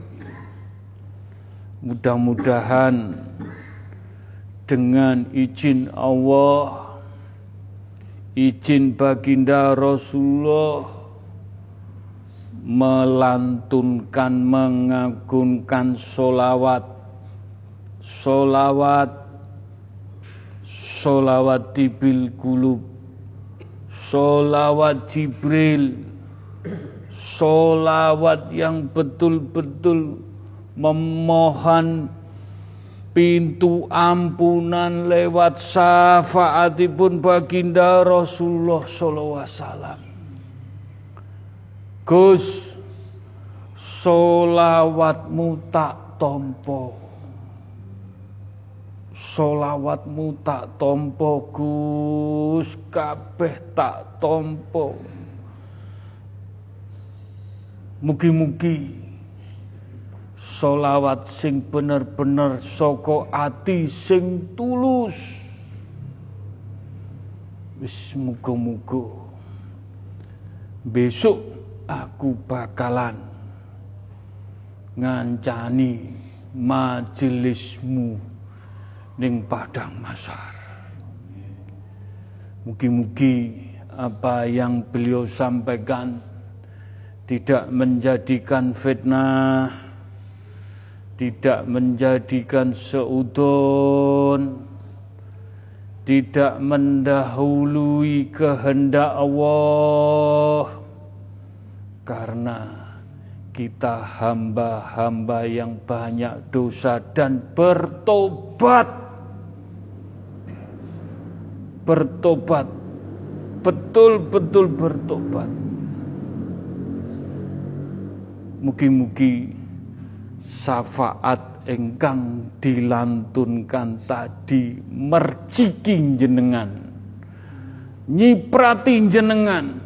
A: Mudah-mudahan dengan izin Allah, izin baginda Rasulullah, melantunkan, mengagungkan solawat, solawat, solawat tibil kulub, solawat Jibril, solawat yang betul-betul memohon pintu ampunan lewat syafaatipun baginda Rasulullah sallallahu alaihi wasallam. Gus, solawatmu tak tompo, solawatmu tak tompo Gus, kabeh tak tompo. Mugi-mugi solawat sing bener-bener saka ati sing tulus. Wis muga-muga besok aku bakalan ngancani majelismu ning padang mahsyar. Mugi-mugi apa yang beliau sampaikan tidak menjadikan fitnah, tidak menjadikan seudon, tidak mendahului kehendak Allah, karena kita hamba-hamba yang banyak dosa dan bertobat, bertobat, betul-betul bertobat. Mugi-mugi syafaat engkang dilantunkan tadi merciki jenengan, nyiprati jenengan,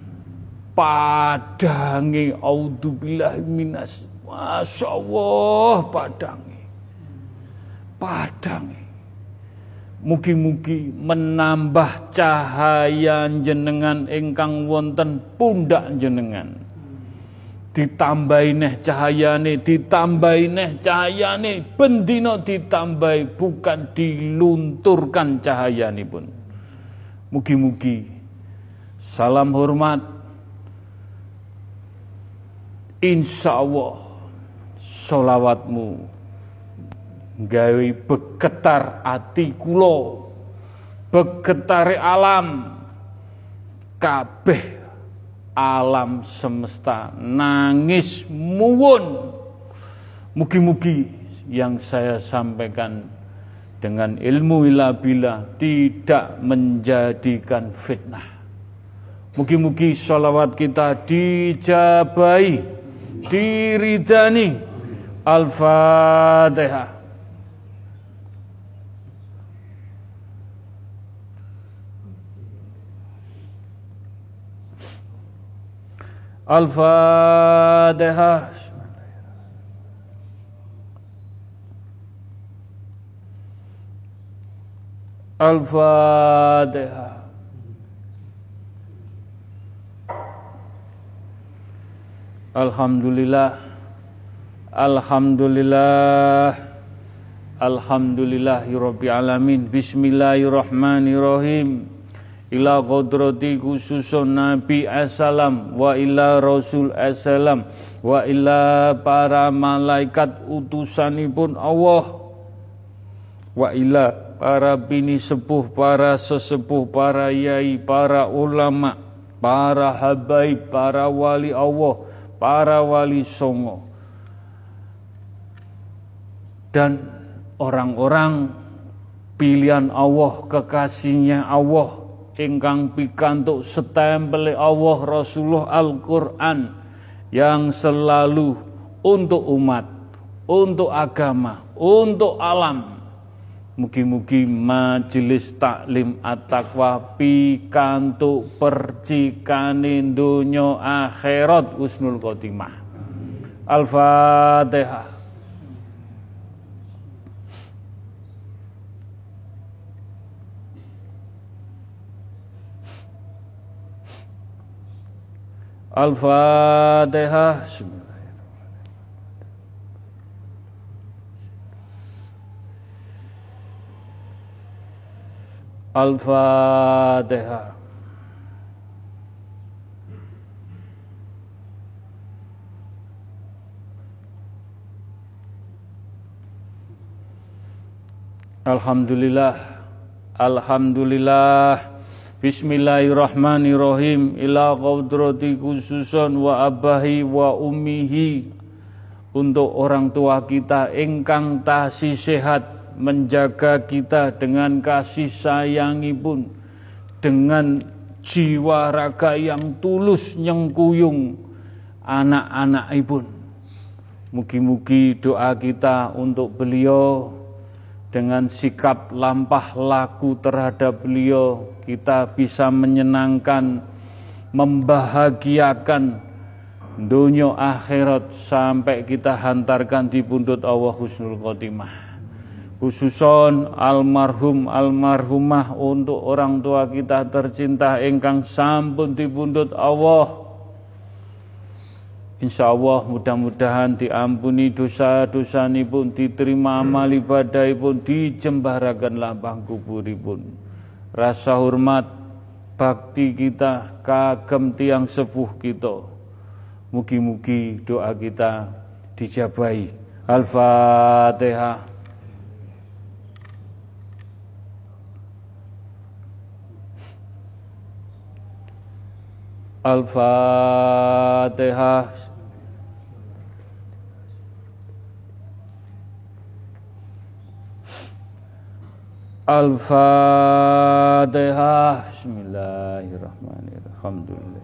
A: padangi auzubillahi minas, Masya Allah, padangi, padangi. Mugi-mugi menambah cahaya jenengan engkang wonten pundak jenengan. Ditambahi neh cahayane, ditambahi neh cahayane, bendino ditambahi, bukan dilunturkan cahayane pun. Mugi-mugi salam hormat, insya Allah sholawatmu gawe begetar ati kula, begetare alam kabeh, alam semesta nangis muwun. Mugi-mugi yang saya sampaikan dengan ilmu ila bila, tidak menjadikan fitnah. Mugi-mugi sholawat kita dijabai, diridani. Al-Fatihah. Al-Fatihah. Al-Fatihah. Alhamdulillah. Alhamdulillah. Alhamdulillahirabbil alamin. Bismillahirrahmanirrahim. Ila qadrati khususun Nabi assalam wa ila Rasul assalam wa ila para malaikat utusanipun Allah wa ila para bini sepuh, para sesepuh, para yai, para ulama, para habaib, para wali Allah, para wali songo, dan orang-orang pilihan Allah, kekasihnya Allah, ingkang pikantuk setempel Allah Rasulullah Al-Quran yang selalu untuk umat, untuk agama, untuk alam. Mugi-mugi majelis taklim at-taqwa pikantuk percikane donya akhirat husnul khotimah. Al-Fatihah. Al-Fatihah. Al-Fatihah. Alhamdulillah. Alhamdulillah. Bismillahirrahmanirrahim. Ila qadrati khususun wa abahi wa ummihi. Untuk orang tua kita ingkang tasih sehat, menjaga kita dengan kasih sayangipun, dengan jiwa raga yang tulus nyengkuyung anak-anakipun. Mugi-mugi doa kita untuk beliau, dengan sikap lampah laku terhadap beliau, kita bisa menyenangkan, membahagiakan dunia akhirat sampai kita hantarkan di pundut Allah husnul khotimah. Khususon almarhum almarhumah untuk orang tua kita tercinta ingkang sampun dipundhut Allah. Insyaallah mudah-mudahan diampuni dosa-dosanipun, diterima amal ibadahipun, dijembaraken lapang kuburipun. Rasa hormat bakti kita kagem tiang sepuh kita. Mugi-mugi doa kita dijabahi. Al-Fatihah. Al-Fatihah. Al-Fatihah. Bismillahirrahmanirrahim. Alhamdulillah.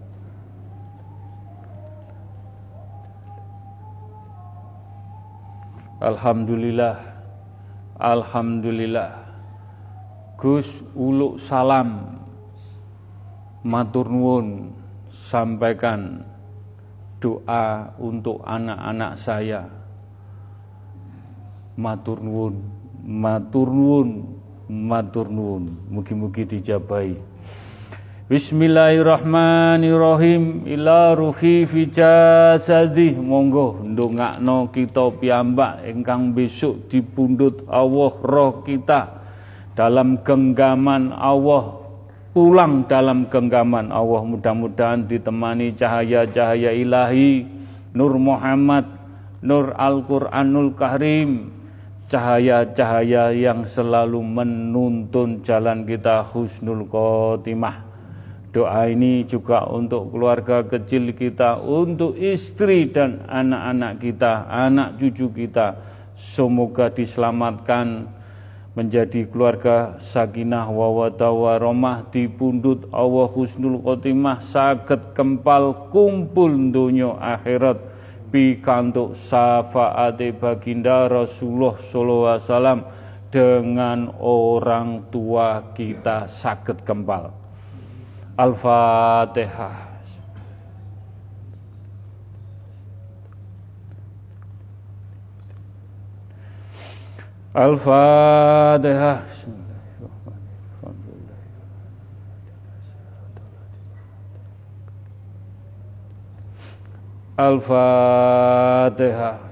A: Alhamdulillah. Alhamdulillah. Gus uluk salam, matur nuwun, sampaikan doa untuk anak-anak saya. Matur nuwun, matur nuwun, matur nuwun. Mugi-mugi dijabahi. Bismillahirrahmanirrahim. Ila ruhi fi jasadi. Monggo ndongakno kita piyambak ingkang besok dipundhut Allah roh kita dalam genggaman Allah, pulang dalam genggaman Allah. Mudah-mudahan ditemani cahaya-cahaya ilahi, Nur Muhammad, Nur Al-Quranul Karim, cahaya-cahaya yang selalu menuntun jalan kita husnul khotimah. Doa ini juga untuk keluarga kecil kita, untuk istri dan anak-anak kita, anak cucu kita. Semoga diselamatkan, menjadi keluarga sakinah wawadah warahmah, dipundhut Allah husnul khotimah, saged kempal kumpul donya akhirat pikantuk syafaate baginda Rasulullah sallallahu alaihi wasallam, dengan orang tua kita saged kempal. Al-Fatihah. Al-Fatihah. Al-Fatihah.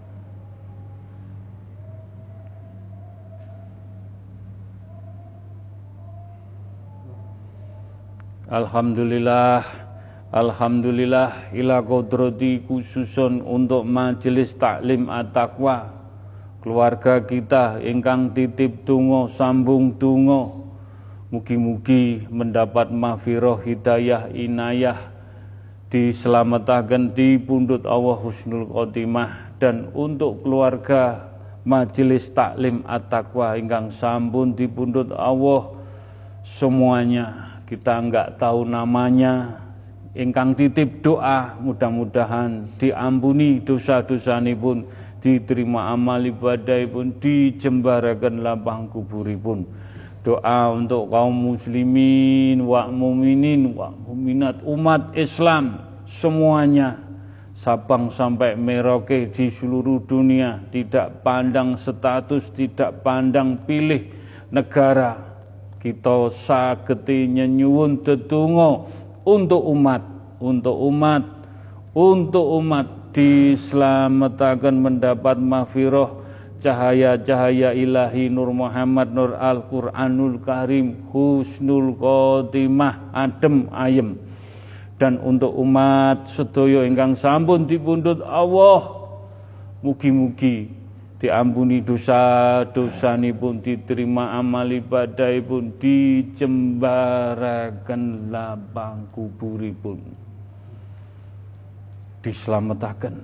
A: Alhamdulillah, alhamdulillah ila kodrati khususun untuk majelis taklim at-taqwa, keluarga kita ingkang titip donga sambung donga, mugi-mugi mendapat maghfirah hidayah inayah, dislametaken dipundhut Allah husnul khotimah. Dan untuk keluarga majelis taklim at-taqwa ingkang sampun dipundhut Allah semuanya, kita enggak tahu namanya, ingkang titip doa mudah-mudahan diampuni dosa-dosanipun, diterima amal ibadahipun, dijembaraken lapang kuburipun. Doa untuk kaum muslimin wa mukminin wa mukminat, umat Islam semuanya, Sabang sampai Merauke di seluruh dunia, tidak pandang status, tidak pandang pilih negara, kita sageti nyenyuwun dedonga untuk umat, untuk umat, untuk umat dislametaken mendapat maghfirah cahaya-cahaya ilahi Nur Muhammad, Nur Al-Qur'anul Karim, husnul khotimah, adem ayem. Dan untuk umat sedaya ingkang sampun dipundhut Allah, mugi-mugi diampuni dosa-dosanipun, diterima amal ibadahipun, dijembaraken lapang kuburipun, dislametaken.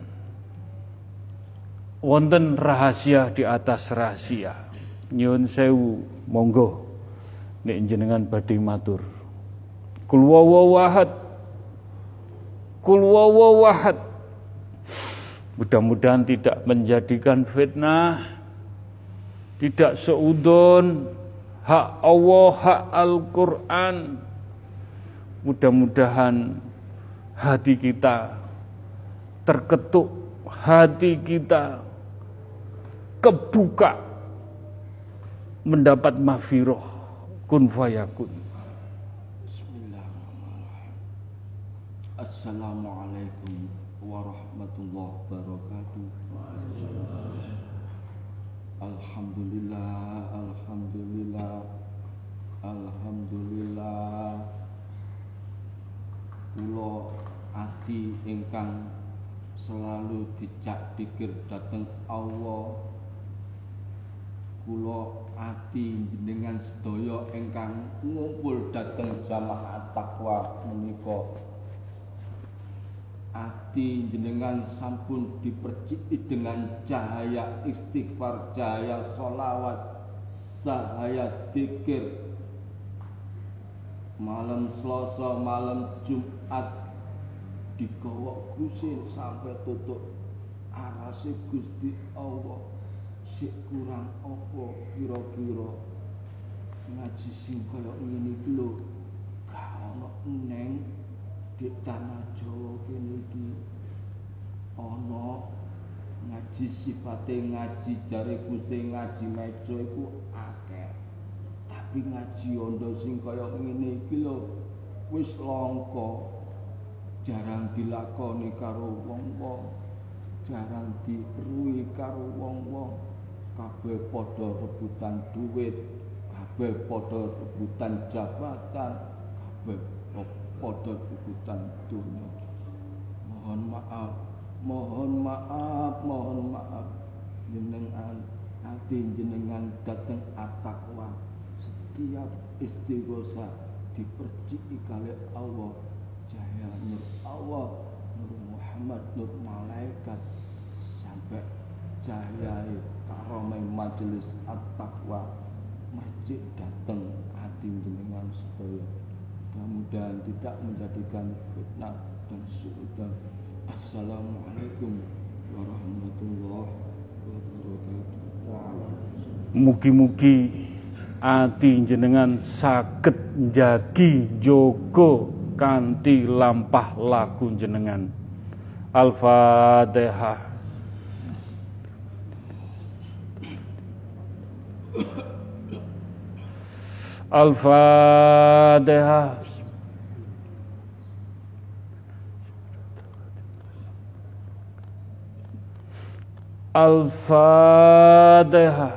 A: Wonten rahasia di atas rahasia. Nyuwun sewu, monggo nek jenengan badhe matur. Kul huwallahu ahad. Kul huwallahu ahad. Mudah-mudahan tidak menjadikan fitnah, tidak seudon hak Allah, hak Al-Quran. Mudah-mudahan hati kita terketuk, hati kita kebuka mendapat maghfirah kun fayakun.
B: Bismillahirrahmanirrahim. Assalamualaikum warahmatullahi wabarakatuh. Alhamdulillah, alhamdulillah, alhamdulillah. Kula ati ingkang selalu dicak dikir dhateng Allah, kula ati jenengan sedaya ingkang ngumpul dhateng jamaah taqwa menika, ati jenengan sampun diperciki dengan cahaya istighfar, cahaya sholawat, cahaya dzikir. Malam Selasa, malam Jumat digawa kusin sampai tutup arase Gusti Allah. Sik kurang apa kira-kira ngaji sing kaya ngene iki lho, gak ono neng di tanah Jawa kene iki. Ana ngaji sifate ngaji jariku sing ngaji meja iku akeh, tapi ngaji ondo sing kaya ngene iki lho wis langka, jarang dilakoni karo wong-wong, jarang diruhi karo wong-wong. Kabeh padha rebutan duit, kabeh padha rebutan jabatan, kabeh padha rebutan dunya. Mohon maaf, mohon maaf, mohon maaf. Jenengan ati jenengan dateng at-taqwa, setiap istighosa diperciki kali Allah, cahaya nur Allah, nur Muhammad, nur malaikat, sampai cahaya karomai majelis at-taqwa masjid datang hati jenengan sedaya. Mudah-mudahan tidak menjadikan fitnah dan suudzon. Assalamualaikum warahmatullahi wabarakatuh.
A: Mugi-mugi ati jenengan saged njagi jaga kanthi lampah laku jenengan. Al-Fatihah. Al-Fatihah. Al-Fatihah.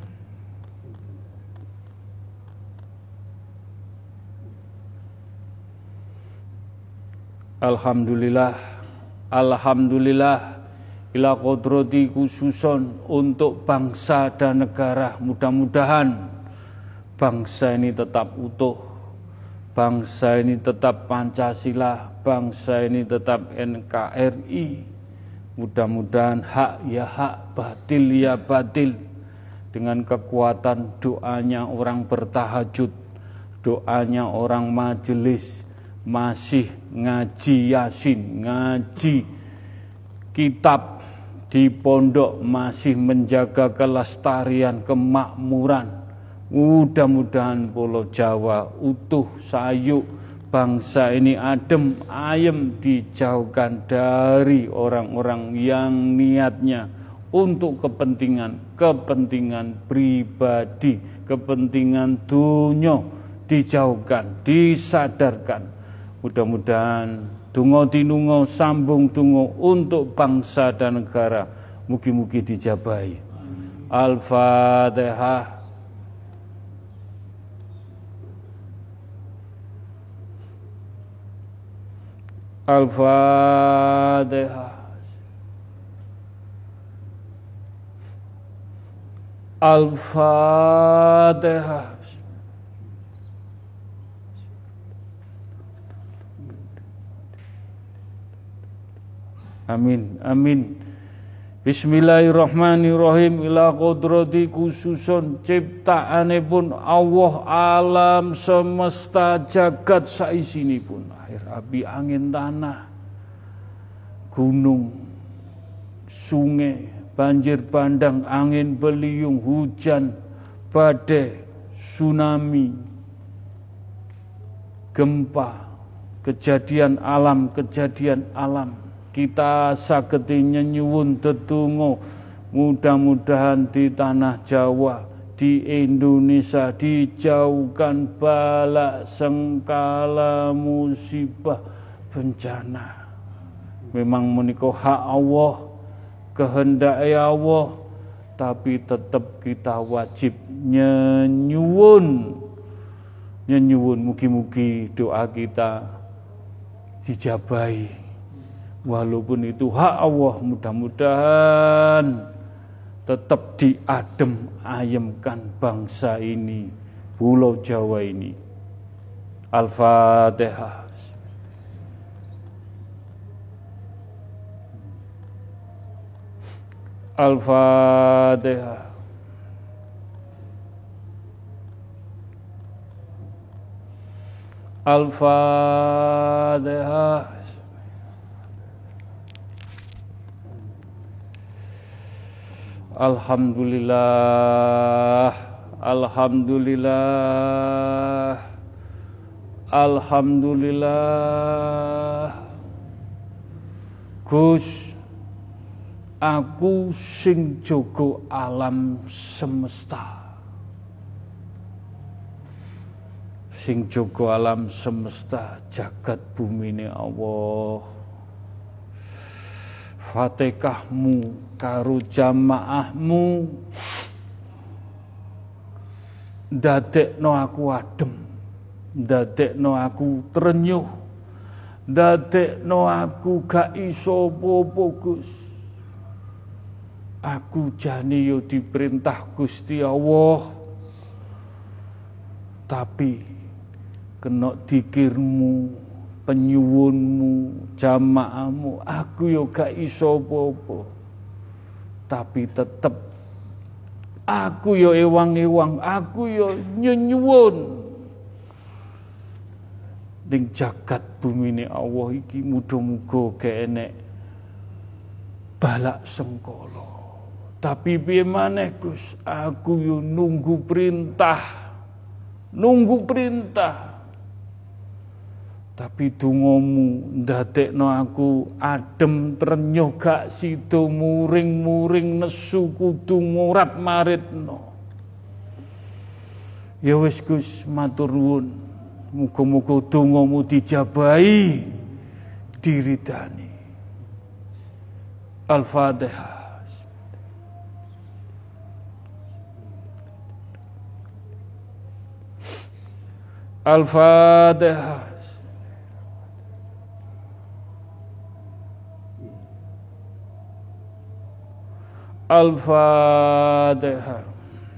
A: Alhamdulillah, Alhamdulillah, ila kodrati khususon untuk bangsa dan negara. Mudah-mudahan bangsa ini tetap utuh, bangsa ini tetap Pancasila, bangsa ini tetap N K R I. Mudah-mudahan hak ya hak, batil ya batil. Dengan kekuatan doanya orang bertahajud, doanya orang majelis, masih ngaji Yasin, ngaji kitab di pondok, masih menjaga kelestarian, kemakmuran. Mudah-mudahan Pulau Jawa utuh, sayuk, bangsa ini adem, ayem, dijauhkan dari orang-orang yang niatnya untuk kepentingan, kepentingan pribadi, kepentingan dunia, dijauhkan, disadarkan. Mudah-mudahan dungo tinungo sambung tungo untuk bangsa dan negara. Mugi-mugi dijabahi. Al-Fatihah. Al-Fatihah. Al-Fatihah. Amin, amin. Bismillahirrahmanirrahim. Ila kodrati khususun ciptaanipun Allah alam semesta jagat saisinipun. Air, api, angin, tanah, gunung, sungai, banjir bandang, angin beliung, hujan, badai, tsunami, gempa, kejadian alam, kejadian alam. Kita sagedi nyuwun tetunggo, mudah-mudahan di tanah Jawa, di Indonesia dijauhkan bala sengkala musibah bencana. Memang menika hak Allah, kehendak Allah, tapi tetap kita wajib nyenyuwun, nyenyuwun mugi-mugi doa kita dijabahi. Walaupun itu hak Allah, mudah-mudahan tetap diadem ayemkan bangsa ini, Pulau Jawa ini. Al-Fatihah. Al-Fatihah. Al-Fatihah. Alhamdulillah, Alhamdulillah, Alhamdulillah. Gus, aku sing jaga alam semesta, sing jaga alam semesta, jagat bumine Allah. Fatihahmu karo jamaahmu ndadekno aku adem, ndadekno aku trenyuh, ndadekno aku gak iso apa-apa Gus. Aku jane yo diperintah Gusti Allah, tapi kena dikirmu, penyuwunmu, jamaahmu, aku yo gak iso apa-apa. Tapi tetep Aku yo ewang-ewang, aku yo nyuwun. Ning jagat bumine Allah iki muga-muga gak enek balak sengkala. Tapi piye maneh Gus, aku yo nunggu perintah. Nunggu perintah. Tapi dongamu ndadekno aku adem trenyuh gak sida muring-muring nesu kudu murat maritno. Ya wis Gus, matur nuwun. Muga-muga dongamu dijabahi, diridani. Al-Fatihah. Al-Fatihah. Al-Fatihah.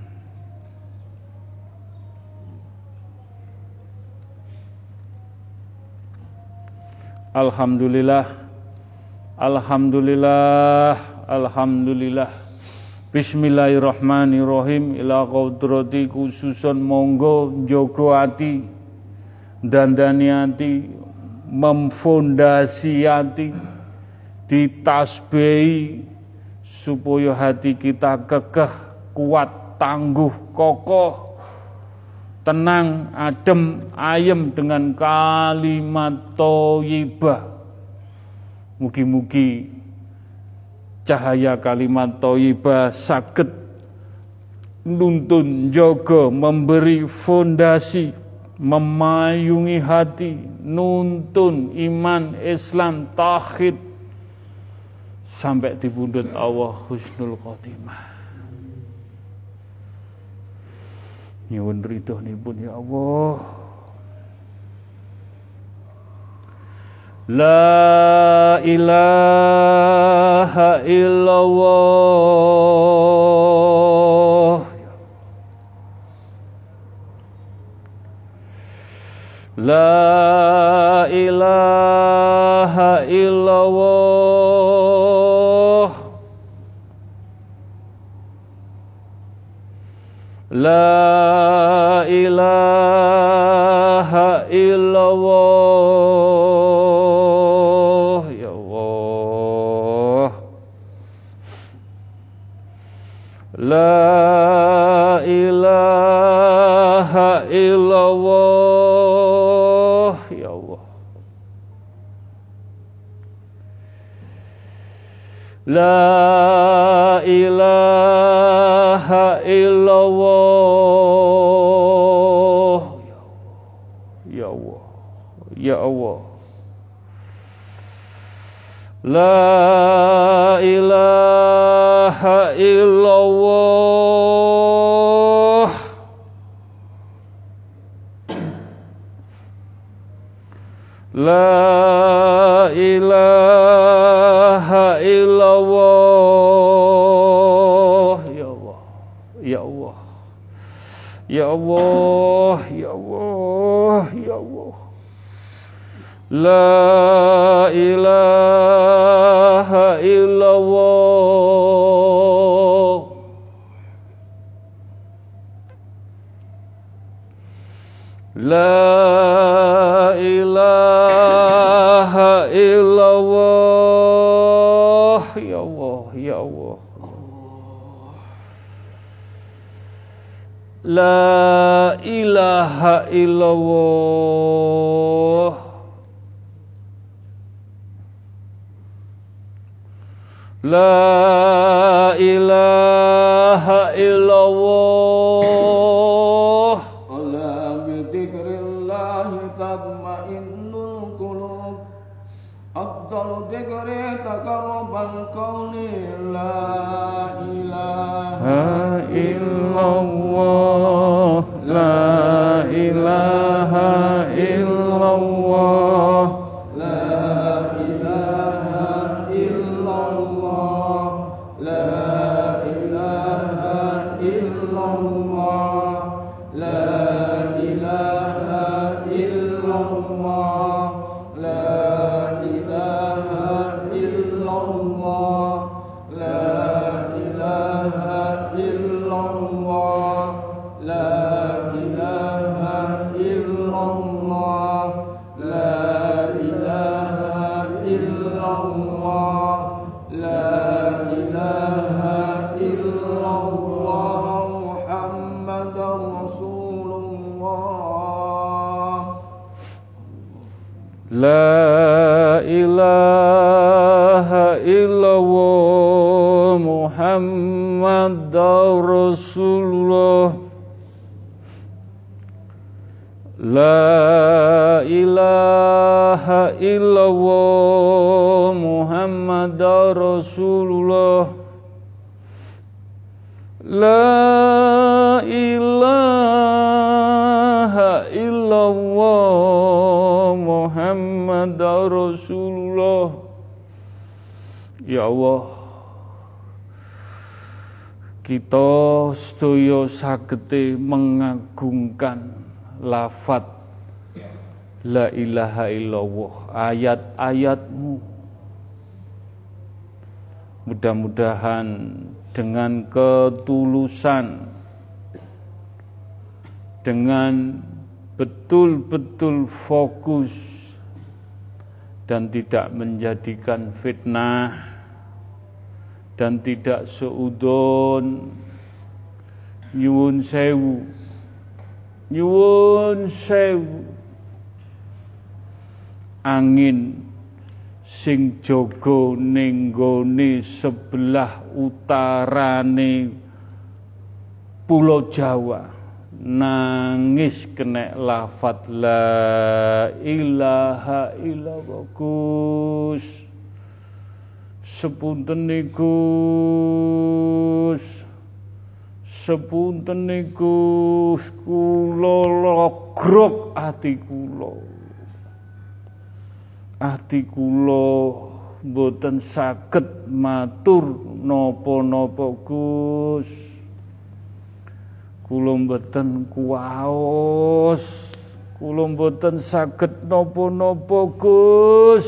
A: Alhamdulillah, Alhamdulillah, Alhamdulillah. Bismillahirrahmanirrahim. Ila qudrati khususon monggo njogo ati, dandani ati, memfondasi ati, ditasbihi supaya hati kita kekeh, kuat, tangguh, kokoh, tenang, adem, ayem dengan kalimat thayyibah. Mugi-mugi cahaya kalimat thayyibah saged nuntun, jaga, memberi fondasi, memayungi hati, nuntun iman, Islam, tauhid sampai di pundhut Allah husnul khotimah. Nyuwun ridhonipun ya Allah. La ilaha illallah. La ilaha illallah. La ilaha illallah. Ya Allah. La ilaha illallah. Ya Allah. La ilaha illallah. Ya Allah. Ya Allah. La ilaha illallah. La ilaha illallah. Ya Allah. Ya Allah. Ya Allah. Ya Allah. Ya Allah. La ilaha illallah. La ilaha illallah. Ya Allah, ya Allah. La ilaha illallah. La ilaha illallah.
B: Ala bi dzikrillahi tatmainnul qulub. Afdal dzikri taqarrubal qawli la ilaha
A: illallah. La ilaha illallah.
B: La ilaha illallah.
A: La ilaha illallah Muhammadur Rasulullah. La ilaha illallah Muhammadur Rasulullah. La ilaha illallah Muhammadur Rasulullah. Ya Allah, kita sedaya sagete mengagungkan lafaz la ilaha illallah, ayat-ayatmu. Mudah-mudahan dengan ketulusan, dengan betul-betul fokus dan tidak menjadikan fitnah dan tidak seudon, nyuwun sewu, nyuwun sewu, angin sing jaga ning nggone sebelah utarane Pulau Jawa nangis kena lafaz la ilaha illallah. Gus, sepunten Gus, sepunten Gus, kula logrok ati kula. Ati kula mboten saged matur napa-napa Gus. Kula mboten kuwaos, kula mboten saged napa-napa Gus.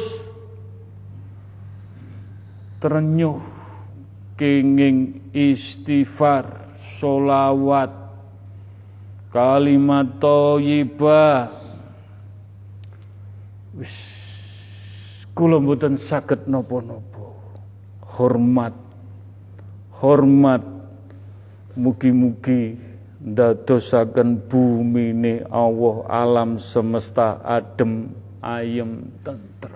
A: Trenyuh kenging istighfar, sholawat, kalimat thayyibah. Wis kula mboten saged napa-napa. Hormat, hormat, mugi-mugi ndadosaken bumine Allah alam semesta adem, ayem, tentrem.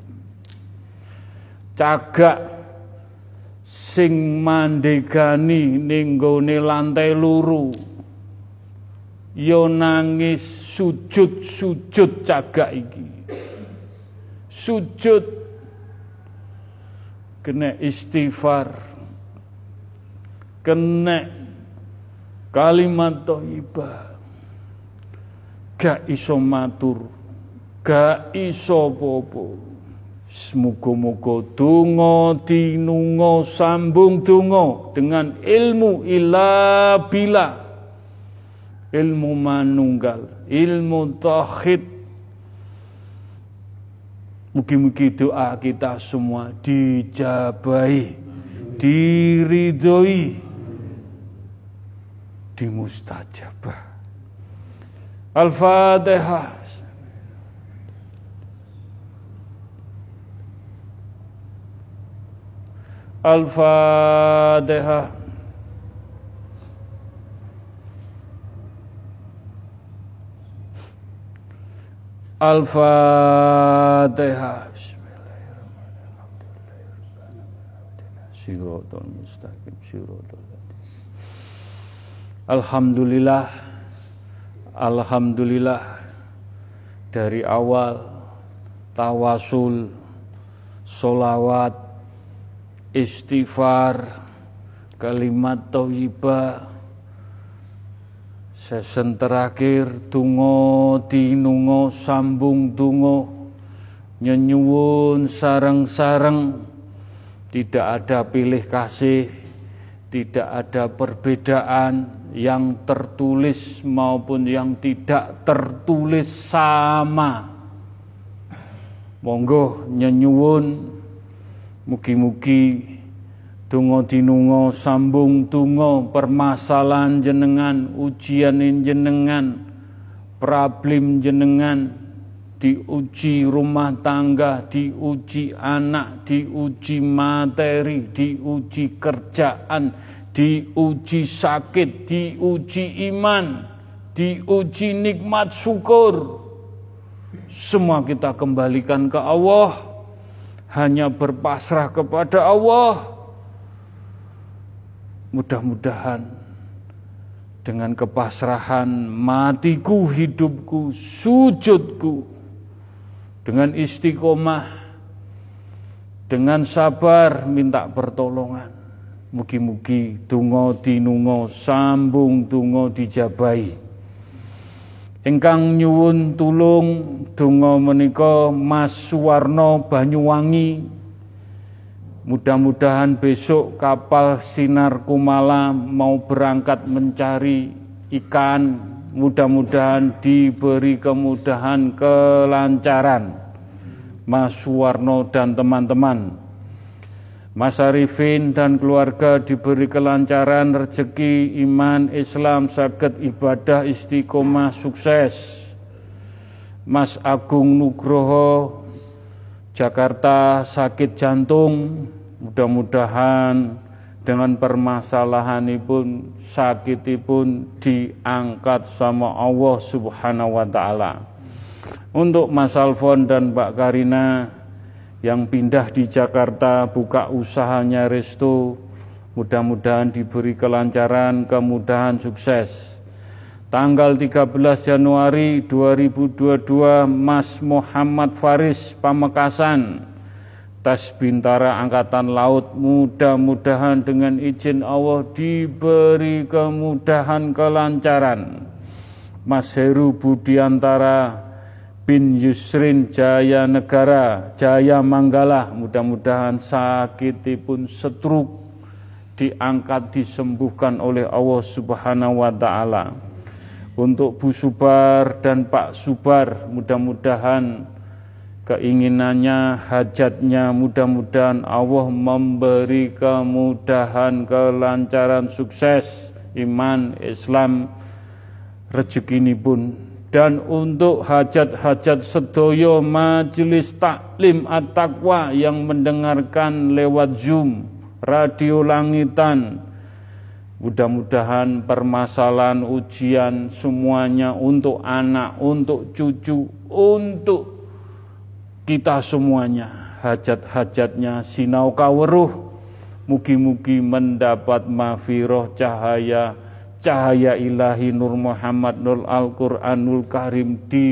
A: Cagak sing mandegani ning nggone lantai luru, ya nangis sujud-sujud cagak iki. Sujud kena istighfar, kena kalimat thayyibah, gak iso matur, gak iso apa-apa. Muga-muga donga dinunga sambung donga dengan ilmu ila bila, ilmu manunggal, ilmu tauhid. Mugi-mugi doa kita semua dijabahi, diridhoi, dimustajabah. Al-Fatihah. Al-Fatihah. Al-Fatihah. Alhamdulillah, alhamdulillah, dari awal tawasul, solawat, istighfar, kalimat thayyibah, sesen terakhir tungo dinungo sambung tungo, nyenyuwun sareng-sareng, tidak ada pilih kasih, tidak ada perbedaan yang tertulis maupun yang tidak tertulis sama. Monggo nyenyuwun, mugi-mugi tungo dinungo sambung tungo permasalahan jenengan, ujian jenengan, problem jenengan, diuji rumah tangga, diuji anak, diuji materi, diuji kerjaan, diuji sakit, diuji iman, diuji nikmat syukur. Semua kita kembalikan ke Allah, hanya berpasrah kepada Allah. Mudah-mudahan dengan kepasrahan matiku, hidupku, sujudku, dengan istiqomah, dengan sabar minta pertolongan, mugi-mugi donga dinunga sambung donga dijabahi. Ingkang nyuwun tulung donga menika Mas Suwarno Banyuwangi. Mudah-mudahan besok kapal Sinar Kumala mau berangkat mencari ikan. Mudah-mudahan diberi kemudahan, kelancaran. Mas Suwarno dan teman-teman. Mas Arifin dan keluarga diberi kelancaran, rezeki, iman, Islam, saged ibadah, istiqomah, sukses. Mas Agung Nugroho, Jakarta sakit jantung, mudah-mudahan dengan permasalahanipun, sakitipun diangkat sama Allah Subhanahu wa Ta'ala. Untuk Mas Alfon dan Mbak Karina yang pindah di Jakarta, buka usahanya resto, mudah-mudahan diberi kelancaran, kemudahan, sukses. Tanggal tiga belas Januari dua ribu dua puluh dua, Mas Muhammad Faris Pamekasan, Tas Bintara Angkatan Laut, mudah-mudahan dengan izin Allah diberi kemudahan, kelancaran. Mas Heru Budiantara bin Yusrin Jaya Negara, Jaya Manggala, mudah-mudahan sakitipun stroke diangkat, disembuhkan oleh Allah Subhanahu wa Ta'ala. Untuk Bu Subar dan Pak Subar, mudah-mudahan keinginannya, hajatnya, mudah-mudahan Allah memberi kemudahan, kelancaran, sukses, iman, Islam, rezekinipun. Dan untuk hajat-hajat sedoyo majelis taklim at-taqwa yang mendengarkan lewat Zoom, radio langitan, mudah-mudahan permasalahan ujian semuanya untuk anak, untuk cucu, untuk kita semuanya, hajat-hajatnya sinau kaweruh, mugi-mugi mendapat mafiroh cahaya, cahaya ilahi Nur Muhammad Nur Al-Quranul Karim,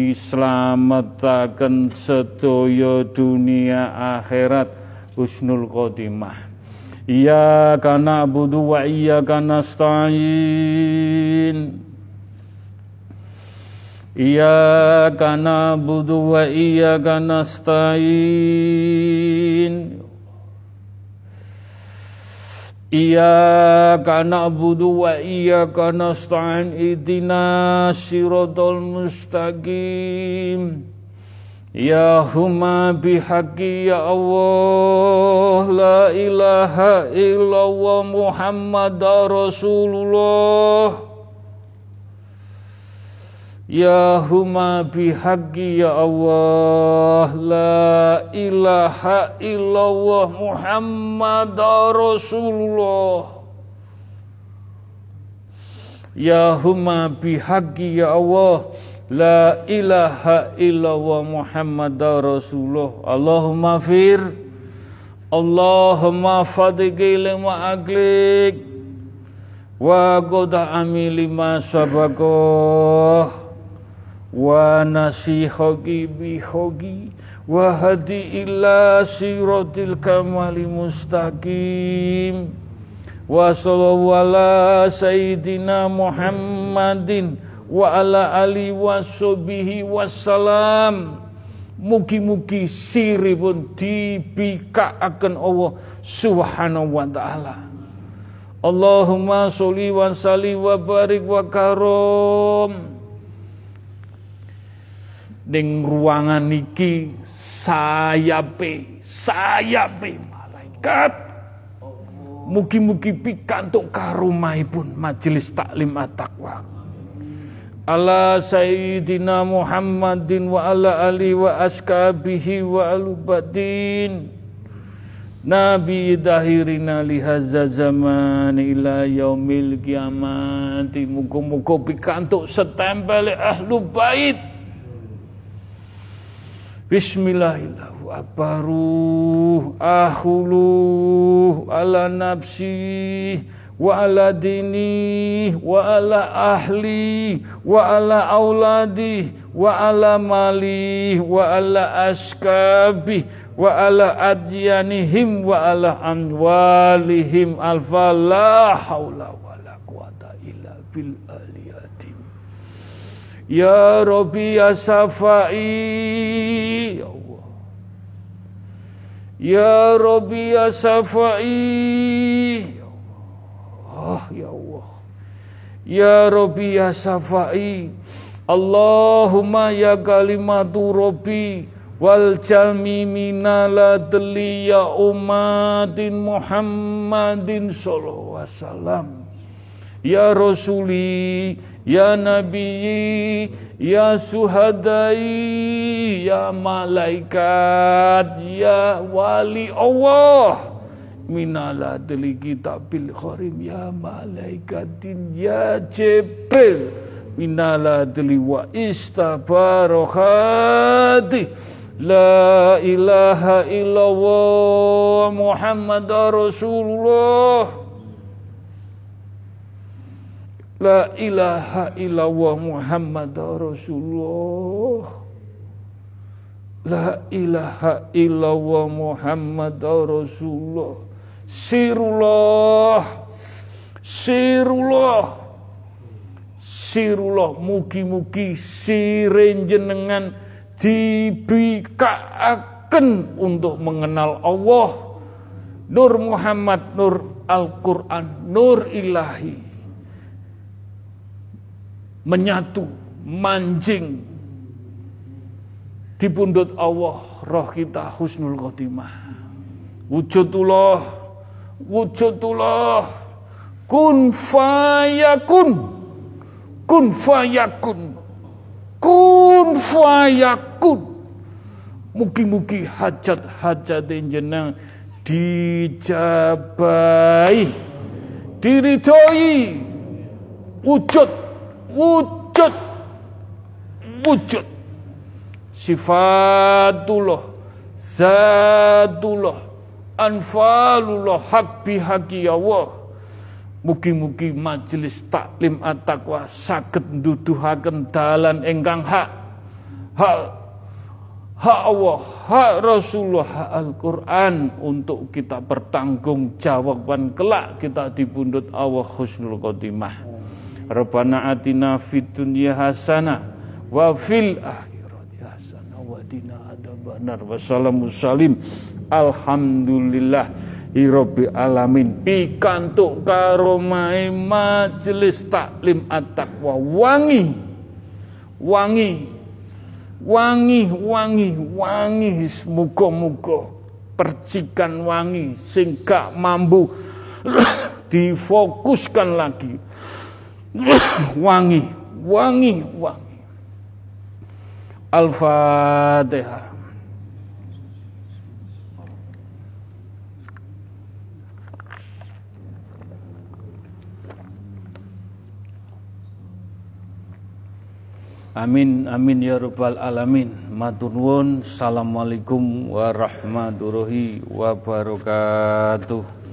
A: dislametaken sedaya dunia akhirat, husnul khotimah. Iyyaka na'budu wa iyyaka nasta'in. Iyyaka na'budu wa iyyaka nasta'in. Iyyaka na'budu wa iyyaka nasta'in, ihdinas siratal mustaqim. Ya huma bihaqqi ya Allah, la ilaha illallah Muhammadar Rasulullah. Ya huma bihaqqi ya Allah, la ilaha illallah Muhammadar Rasulullah. Ya huma bihaqqi ya Allah, la ilaha illallah Muhammadar Rasulullah. Allahumma fir, Allahumma fadiki lima aklik, wa qada amili ma sabakoh, wa nasihoki bihoki, wa hadi ila siratil kamali mustaqim, wa sallallahu ala sayyidina Muhammadin wa ala ali wassobihi wassalam. Mugi-mugi siripun dibikaaken Allah Subhanahu wa ta'ala. Allahumma sholli wa sallim wa barik wa karom. Ning ruangan iki sayape sayape malaikat, mugi-mugi pikantuk karomahipun majelis taklim at-taqwa. Ala sayyidina Muhammadin wa ala ali wa askabihi wa alubadin, Nabi dahirina lihazza zaman ila yaumil kiamati. Muga-muga pikantuk setempel ahlu bait. Bismillahirrahmanirrahim. Abaru ahulu ala nafsi wa ala dini wa ala ahli wa ala auladi wa ala mali wa ala askabi wa ala adyanihim wa ala amwalihim alfa la haula wa la quwata illa bil aliyatim. Ya Rabbi ya Safai, ya Allah. Ya Rabbi ya Safai, ya Allah, ya Allah. Ya Rabbi ya Safai, Allahumma ya kalimatu Rabbi wal jalmi minala deli ya umatin Muhammadin sallallahu alaihi wasallam. Ya Rasuli, ya Nabi, ya Suhadai, ya Malaikat, ya Wali Allah. Minala deli kitabil kharim, ya Malaikatin, ya Jibril. Minala deli wa istabarohati. La ilaha illallah Muhammad Rasulullah. La ilaha illallah Muhammad Rasulullah. La ilaha illallah Muhammad Rasulullah. Sirullah, sirullah, sirullah. Mugi-mugi sirin jenengan dibikaaken untuk mengenal Allah. Nur Muhammad, nur Al-Quran, nur ilahi. Menyatu, manjing di pundut Allah, roh kita husnul khotimah. Wujudullah, wujudullah, kun fayakun, kun fayakun, kun fayakun. Mugi-mugi hajat-hajat jenengan dijabai, diridhoi, wujud. Wujud, wujud, sifatullah, zatullah, anfalullah, hak bihaki Allah. Mugi-mugi majelis taklim at-taqwa saged nduduhaken dalan ingkang hak, hak, hak Allah, hak Rasulullah, hak Al-Quran untuk kita bertanggung jawaban kelak kita di pundut Allah husnul khotimah. Rabbana atina fid dunya hasanah wa fil akhirati hasanah wa qina adzabannar. Wassalamu salim. Alhamdulillah rabbil alamin. Pikantuk karomahe majelis taklim at-taqwa wangi. Wangi. Wangi, wangi, wangi. Muga-muga percikan wangi sing gak mampu difokuskan lagi. Wangi, wangi, wangi. Al-Fatihah. Amin, amin ya rabbal alamin. Matur nuwun. Assalamualaikum warahmatullahi wabarakatuh.